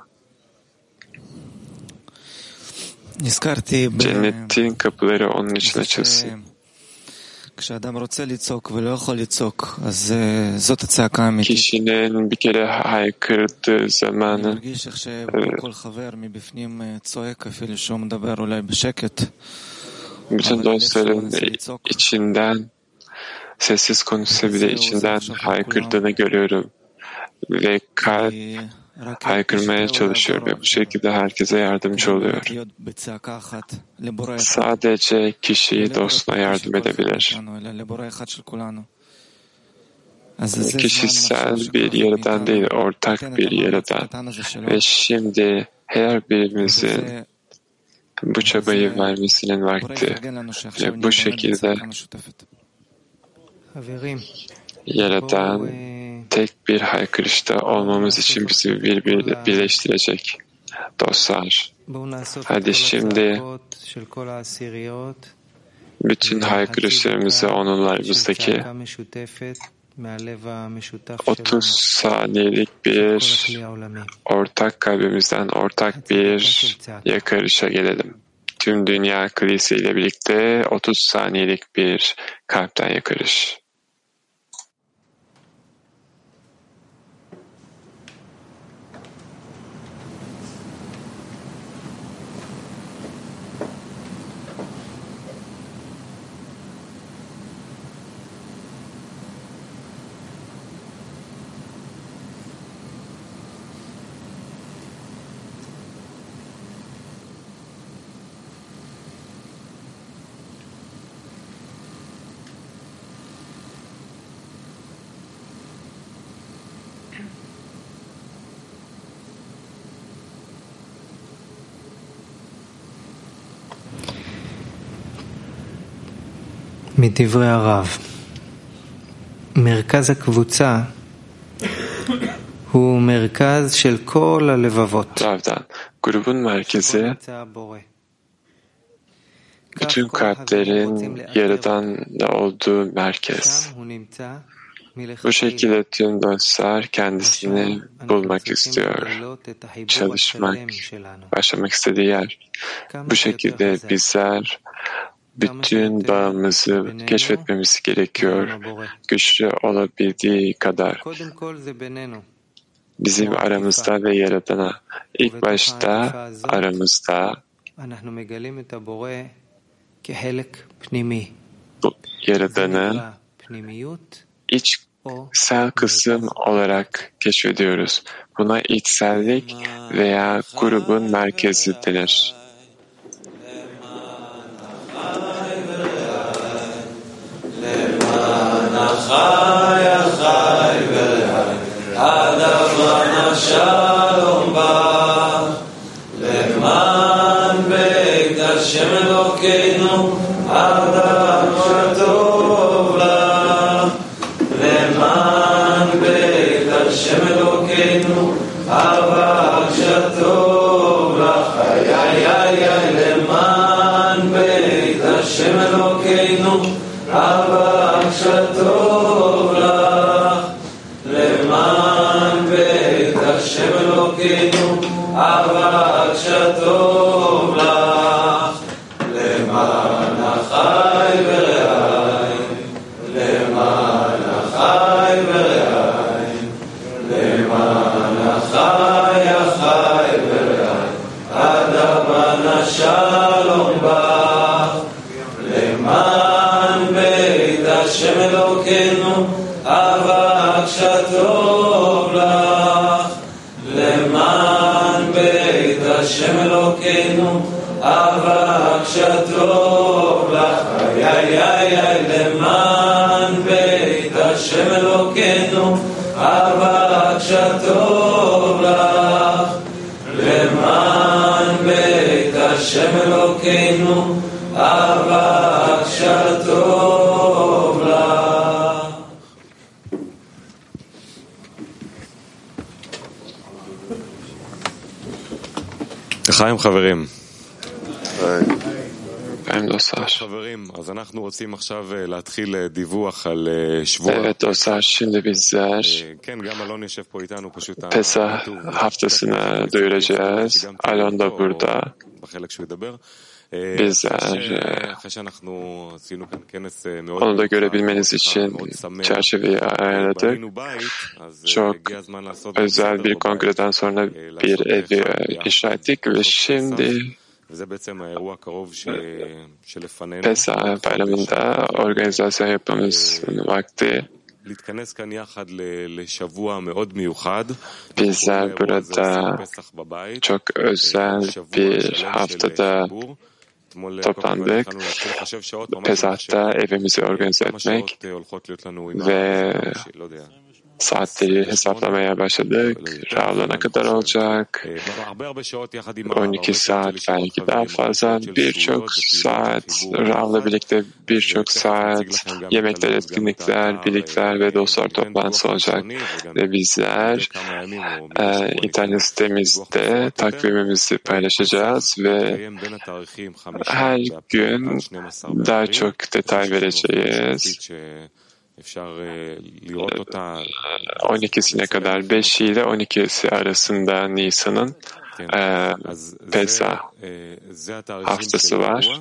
Cennetin kapıları onun için açılsın. Kişinin bir kere haykırdığı zamanı bütün dostların içinden sessiz konuşsa bile içinden haykırdığını görüyorum ve kalp haykırmaya çalışıyor ve bu şekilde herkese yardımcı oluyor. Sadece kişi dostuna yardım edebilir. Kişisel bir Yaradan değil, ortak bir Yaradan. Ve şimdi her birimizin bu çabayı vermesinin vakti. Ve bu şekilde Yaradan tek bir haykırışta olmamız için bizi birleştirecek. Dostlar, hadi şimdi bütün haykırışlarımızı onurlarımızdaki 30 saniyelik bir ortak kalbimizden ortak bir yakarışa gelelim. Tüm dünya kilise ile birlikte 30 saniyelik bir kalpten yakarış. מדברי הרב, מרכז הקבוצה הוא מרכז של כל הלבבות. Grubun merkezi bütün kalplerin Yaradan'da olduğu merkez. Bu şekilde tüm dostlar kendisini bulmak istiyor, başlamak istediği yer. Bu şekilde bizler bütün bağımızı keşfetmemiz gerekiyor, güçlü olabildiği kadar. Bizim aramızda ve Yaradan'a, ilk başta aramızda bu Yaradan'ı içsel kısım olarak keşfediyoruz. Buna içsellik veya grubun merkezi denir. החי החי ורעי עד אבנה שלום בא למען בית השם אלוקינו עד אבנה טוב לה למען בית השם אלוקינו אבק שטוב לך איי איי איי למען בית השם אלוקינו אבק שטוב לך למען בית השם אלוקינו אבק שטוב לך למען החי ורעי למען החי ורעי למען החי החי ורעי עד אבנה שלום בא למען בית השם אלוקינו אבק שטוב לך למען בית השם אלוקינו אבק שטוב לך איי איי איי למען בית השם אלוקינו אבק שטוב לך למען בית השם אלוקינו אבק שטוב לך. לחיים חברים. חברים, אז אנחנו רוצים עכשיו להתחיל דיווח על שבוע. Evet dostlar, şimdi bizler Pesah haftasını duyuracağız. Alon da burada. Bizler onu da görebilmeniz için çerçeveyi ayarladık. Çok özel bir kongreden sonra bir evi inşa ettik ve şimdi Pesah bayramında organizasyon yapmamız vakti. Bizler burada çok özel bir haftada toplandık. Pesah'ta evimizi organize etmek ve saatleri hesaplamaya başladık. Rav'la ne kadar olacak? 12 saat belki daha fazla. Birçok saat Rav'la birlikte birçok saat yemekler, etkinlikler, birlikler ve dostlar toplantısı olacak. Ve bizler internet sitemizde takvimimizi paylaşacağız ve her gün daha çok detay vereceğiz. 12'sine kadar 5 ile 12'si arasında Nisan'ın Pesah haftası var.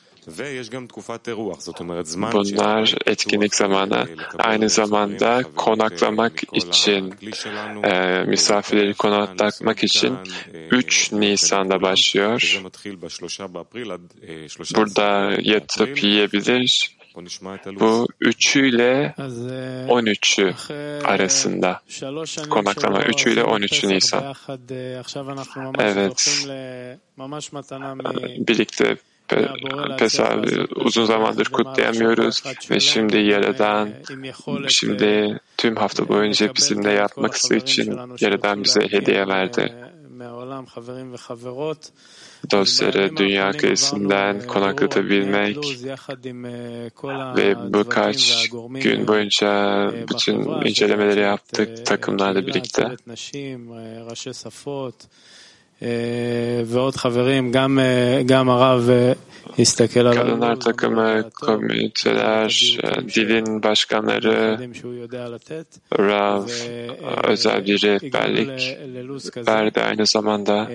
Bunlar etkinlik zamanı. Aynı zamanda konaklamak için, misafirleri konaklamak için 3 Nisan'da başlıyor. Burada yatıp yiyebilir. Bu 3'ü ile 13'ü arasında konaklama 3'ü ile 13 Nisan. Evet. Birlikte Pesah uzun zamandır kutlayamıyoruz ve şimdi tüm hafta boyunca bizimle yapmak için Yaradan bize hediye verdi. Dostları dünya kıyısından konaklatabilmek ve birkaç gün boyunca bütün incelemeleri yaptık takımlarla birlikte. Kadınlar takımı, komiteler, dilin başkanları, Rav özel bir rehberlik verdi aynı zamanda.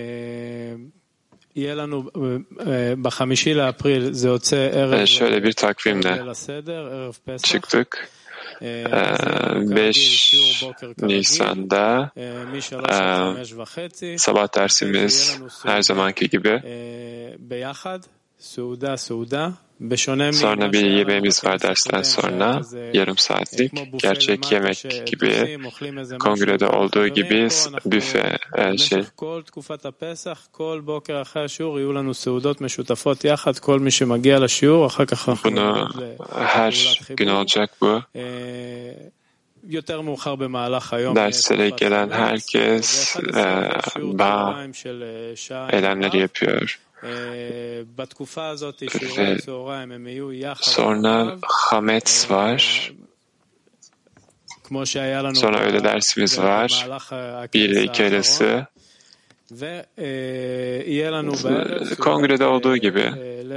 Şöyle bir takvimle çıktık. 5 Nisan'da sabah dersimiz her zamanki gibi Sonra bir yemeğimiz var dersten sonra, yarım saatlik. Gerçek yemek gibi, kongrede olduğu gibi büfe şey. Bunu her gün olacak bu. Derslere gelen herkes eylemleri yapıyor. Ve sonra Hametz var. Sonra öğle dersimiz var. 1 ile 2 arası. Kongrede olduğu gibi.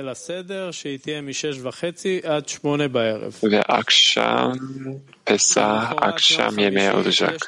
Ve akşam Pesah, akşam yemeği olacak.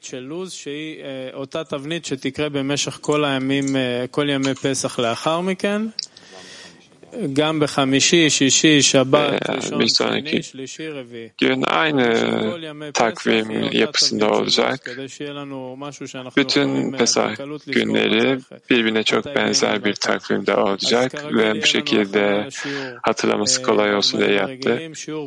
Bir sonraki gün aynı takvim yapısında olacak. Bütün Pesah günleri birbirine çok benzer bir takvimde olacak ve bu şekilde hatırlaması kolay olsun diye yaptı.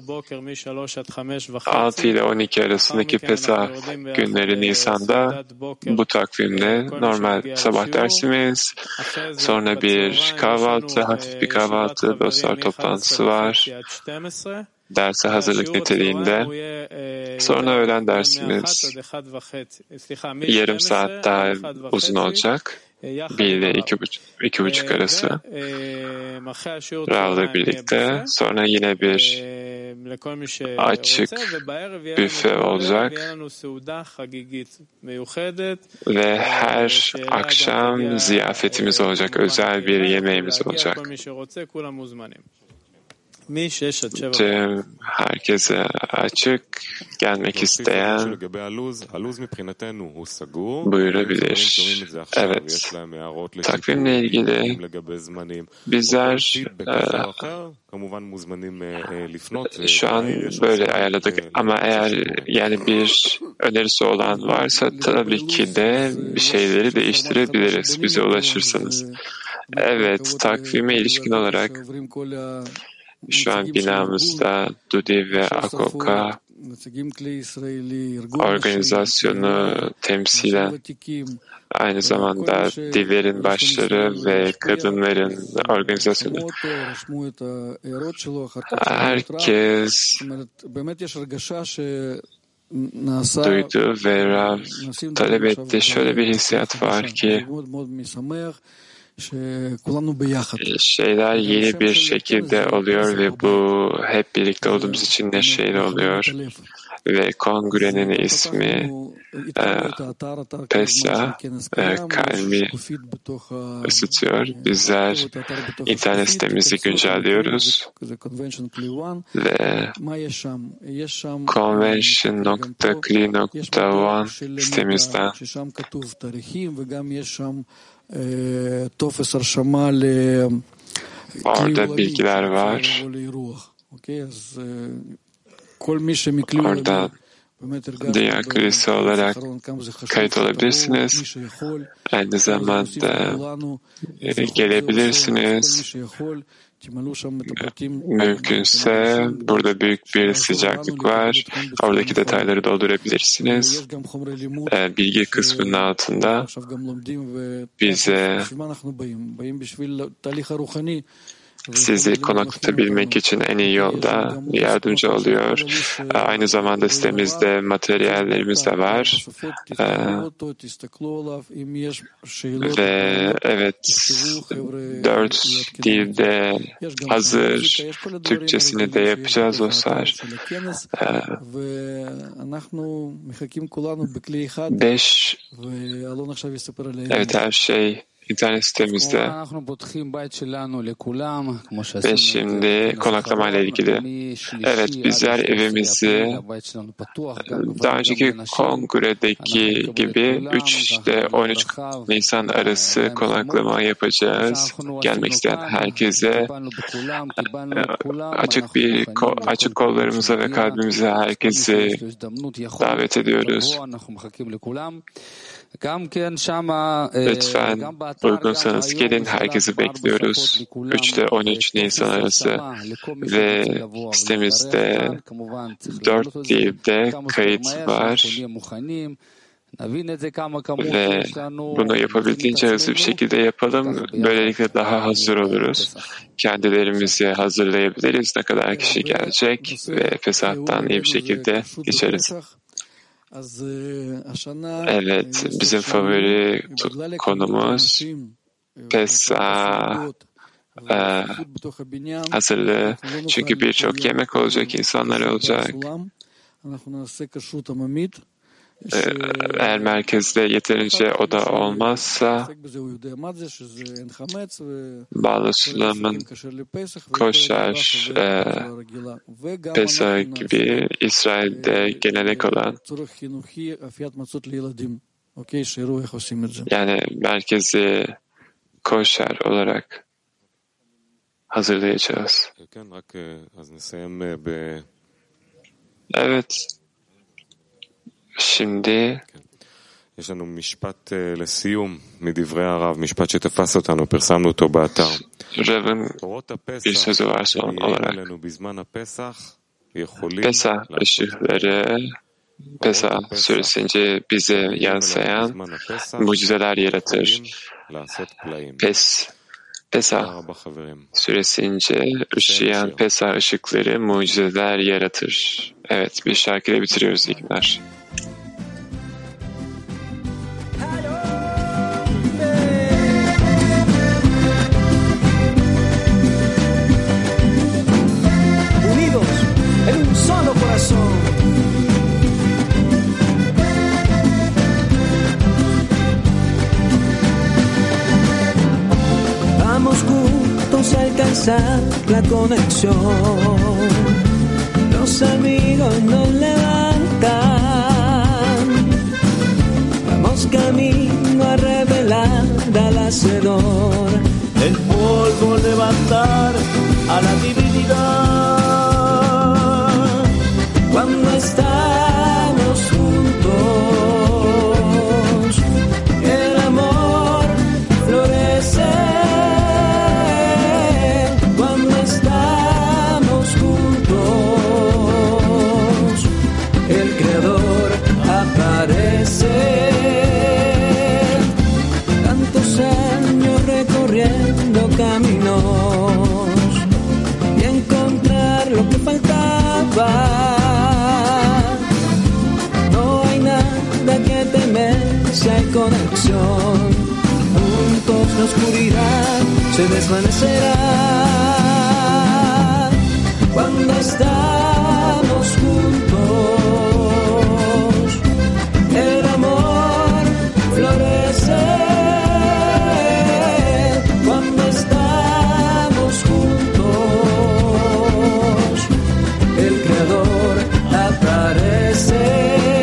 6 ile 12 arasındaki Pesah günleri Nisan'da bu takvimde normal sabah dersimiz, sonra bir kahvaltı, hafif bir kahvaltı, dostlar toplantısı var. Derse hazırlık niteliğinde. Sonra öğlen dersimiz yarım saat daha uzun olacak. 1 ile 2,5 arası. Rav'la birlikte. Sonra yine bir açık büfe olacak. Ve her akşam ziyafetimiz olacak. Özel bir yemeğimiz olacak. Herkese açık, gelmek isteyen buyurabilir. Evet, takvimle ilgili bizler şu an böyle ayarladık ama eğer yani bir önerisi olan varsa tabii ki de bir şeyleri değiştirebiliriz bize ulaşırsanız. Evet, takvime ilişkin olarak şu an binamızda Dudi ve Akoka organizasyonu temsilen aynı zamanda Diver'in başları ve kadınların organizasyonu. Herkes duydu ve Rav talep etti. Şöyle bir hissiyat var ki şeyler yeni bir şekilde oluyor ve bu hep birlikte olduğumuz için neşeyle oluyor. Ve kongrenin ismi Pesah, kalbi ısıtıyor. Bizler internet sitemizi güncelliyoruz ve convention.cli.one sitemizden orada bilgiler var. Orada Dünya Kulisi olarak kayıt olabilirsiniz. Aynı zamanda gelebilirsiniz. Mümkünse burada büyük bir sıcaklık var. Oradaki detayları doldurabilirsiniz. Bilgi kısmının altında bize sizi konaklatabilmek için en iyi yolda yardımcı oluyor. Aynı zamanda sitemizde materyallerimiz de var. Ve evet, 4 dilde hazır. Türkçesini de yapacağız dostlar. 5 evet, her şey İnternet sitemizde ve şimdi konaklama ile ilgili. Evet, bizler evimizi daha önceki kongredeki gibi 3 ile 13 Nisan arası konaklama yapacağız. Gelmek isteyen herkese açık kollarımıza ve kalbimize herkesi davet ediyoruz. Lütfen uygunsanız gelin, herkesi bekliyoruz. 3 ile 13 Nisan arası ve sitemizde 4 dilde kayıt var. Ve bunu yapabildiğince hızlı bir şekilde yapalım. Böylelikle daha hazır oluruz. Kendilerimizi hazırlayabiliriz. Ne kadar kişi gelecek ve Pesah'tan iyi bir şekilde geçeriz. Evet, bizim favori konumuz Pesah hazırlığı. Çünkü birçok yemek olacak, insanlar olacak. Eğer merkezde yeterince oda olmazsa Bağlı-Sulam'ın koşar Pesah gibi İsrail'de gelenek olan, yani merkezi koşar olarak hazırlayacağız. Evet. Şimdi יש לנו משפט לסיום מדברי הרב, משפט שתפס אותנו, פרסמנו אותו באתר. תורות הפסח שיהיה לנו בזמן הפסח יכולים Pesah süresince bize yansıyan mucizeler yaratır. Pesah süresince ışıyan Pesah ışıkları mucizeler yaratır. Evet, bir şarkıyla bitiriyoruz iyi günler. Unidos en un solo corazón. Vamos juntos a alcanzar la conexión. Los amigos nos levantan. Vamos camino a revelar al Hacedor. El polvo levantar a la divinidad. Cuando estamos juntos, el amor florece. Cuando estamos juntos, el Creador aparece. Tantos años recorriendo caminos y encontrar lo que faltaba. No hay nada que temer si hay conexión. Juntos la oscuridad se desvanecerá. Cuando estamos juntos, el amor florece. Cuando estamos juntos, el Creador aparece.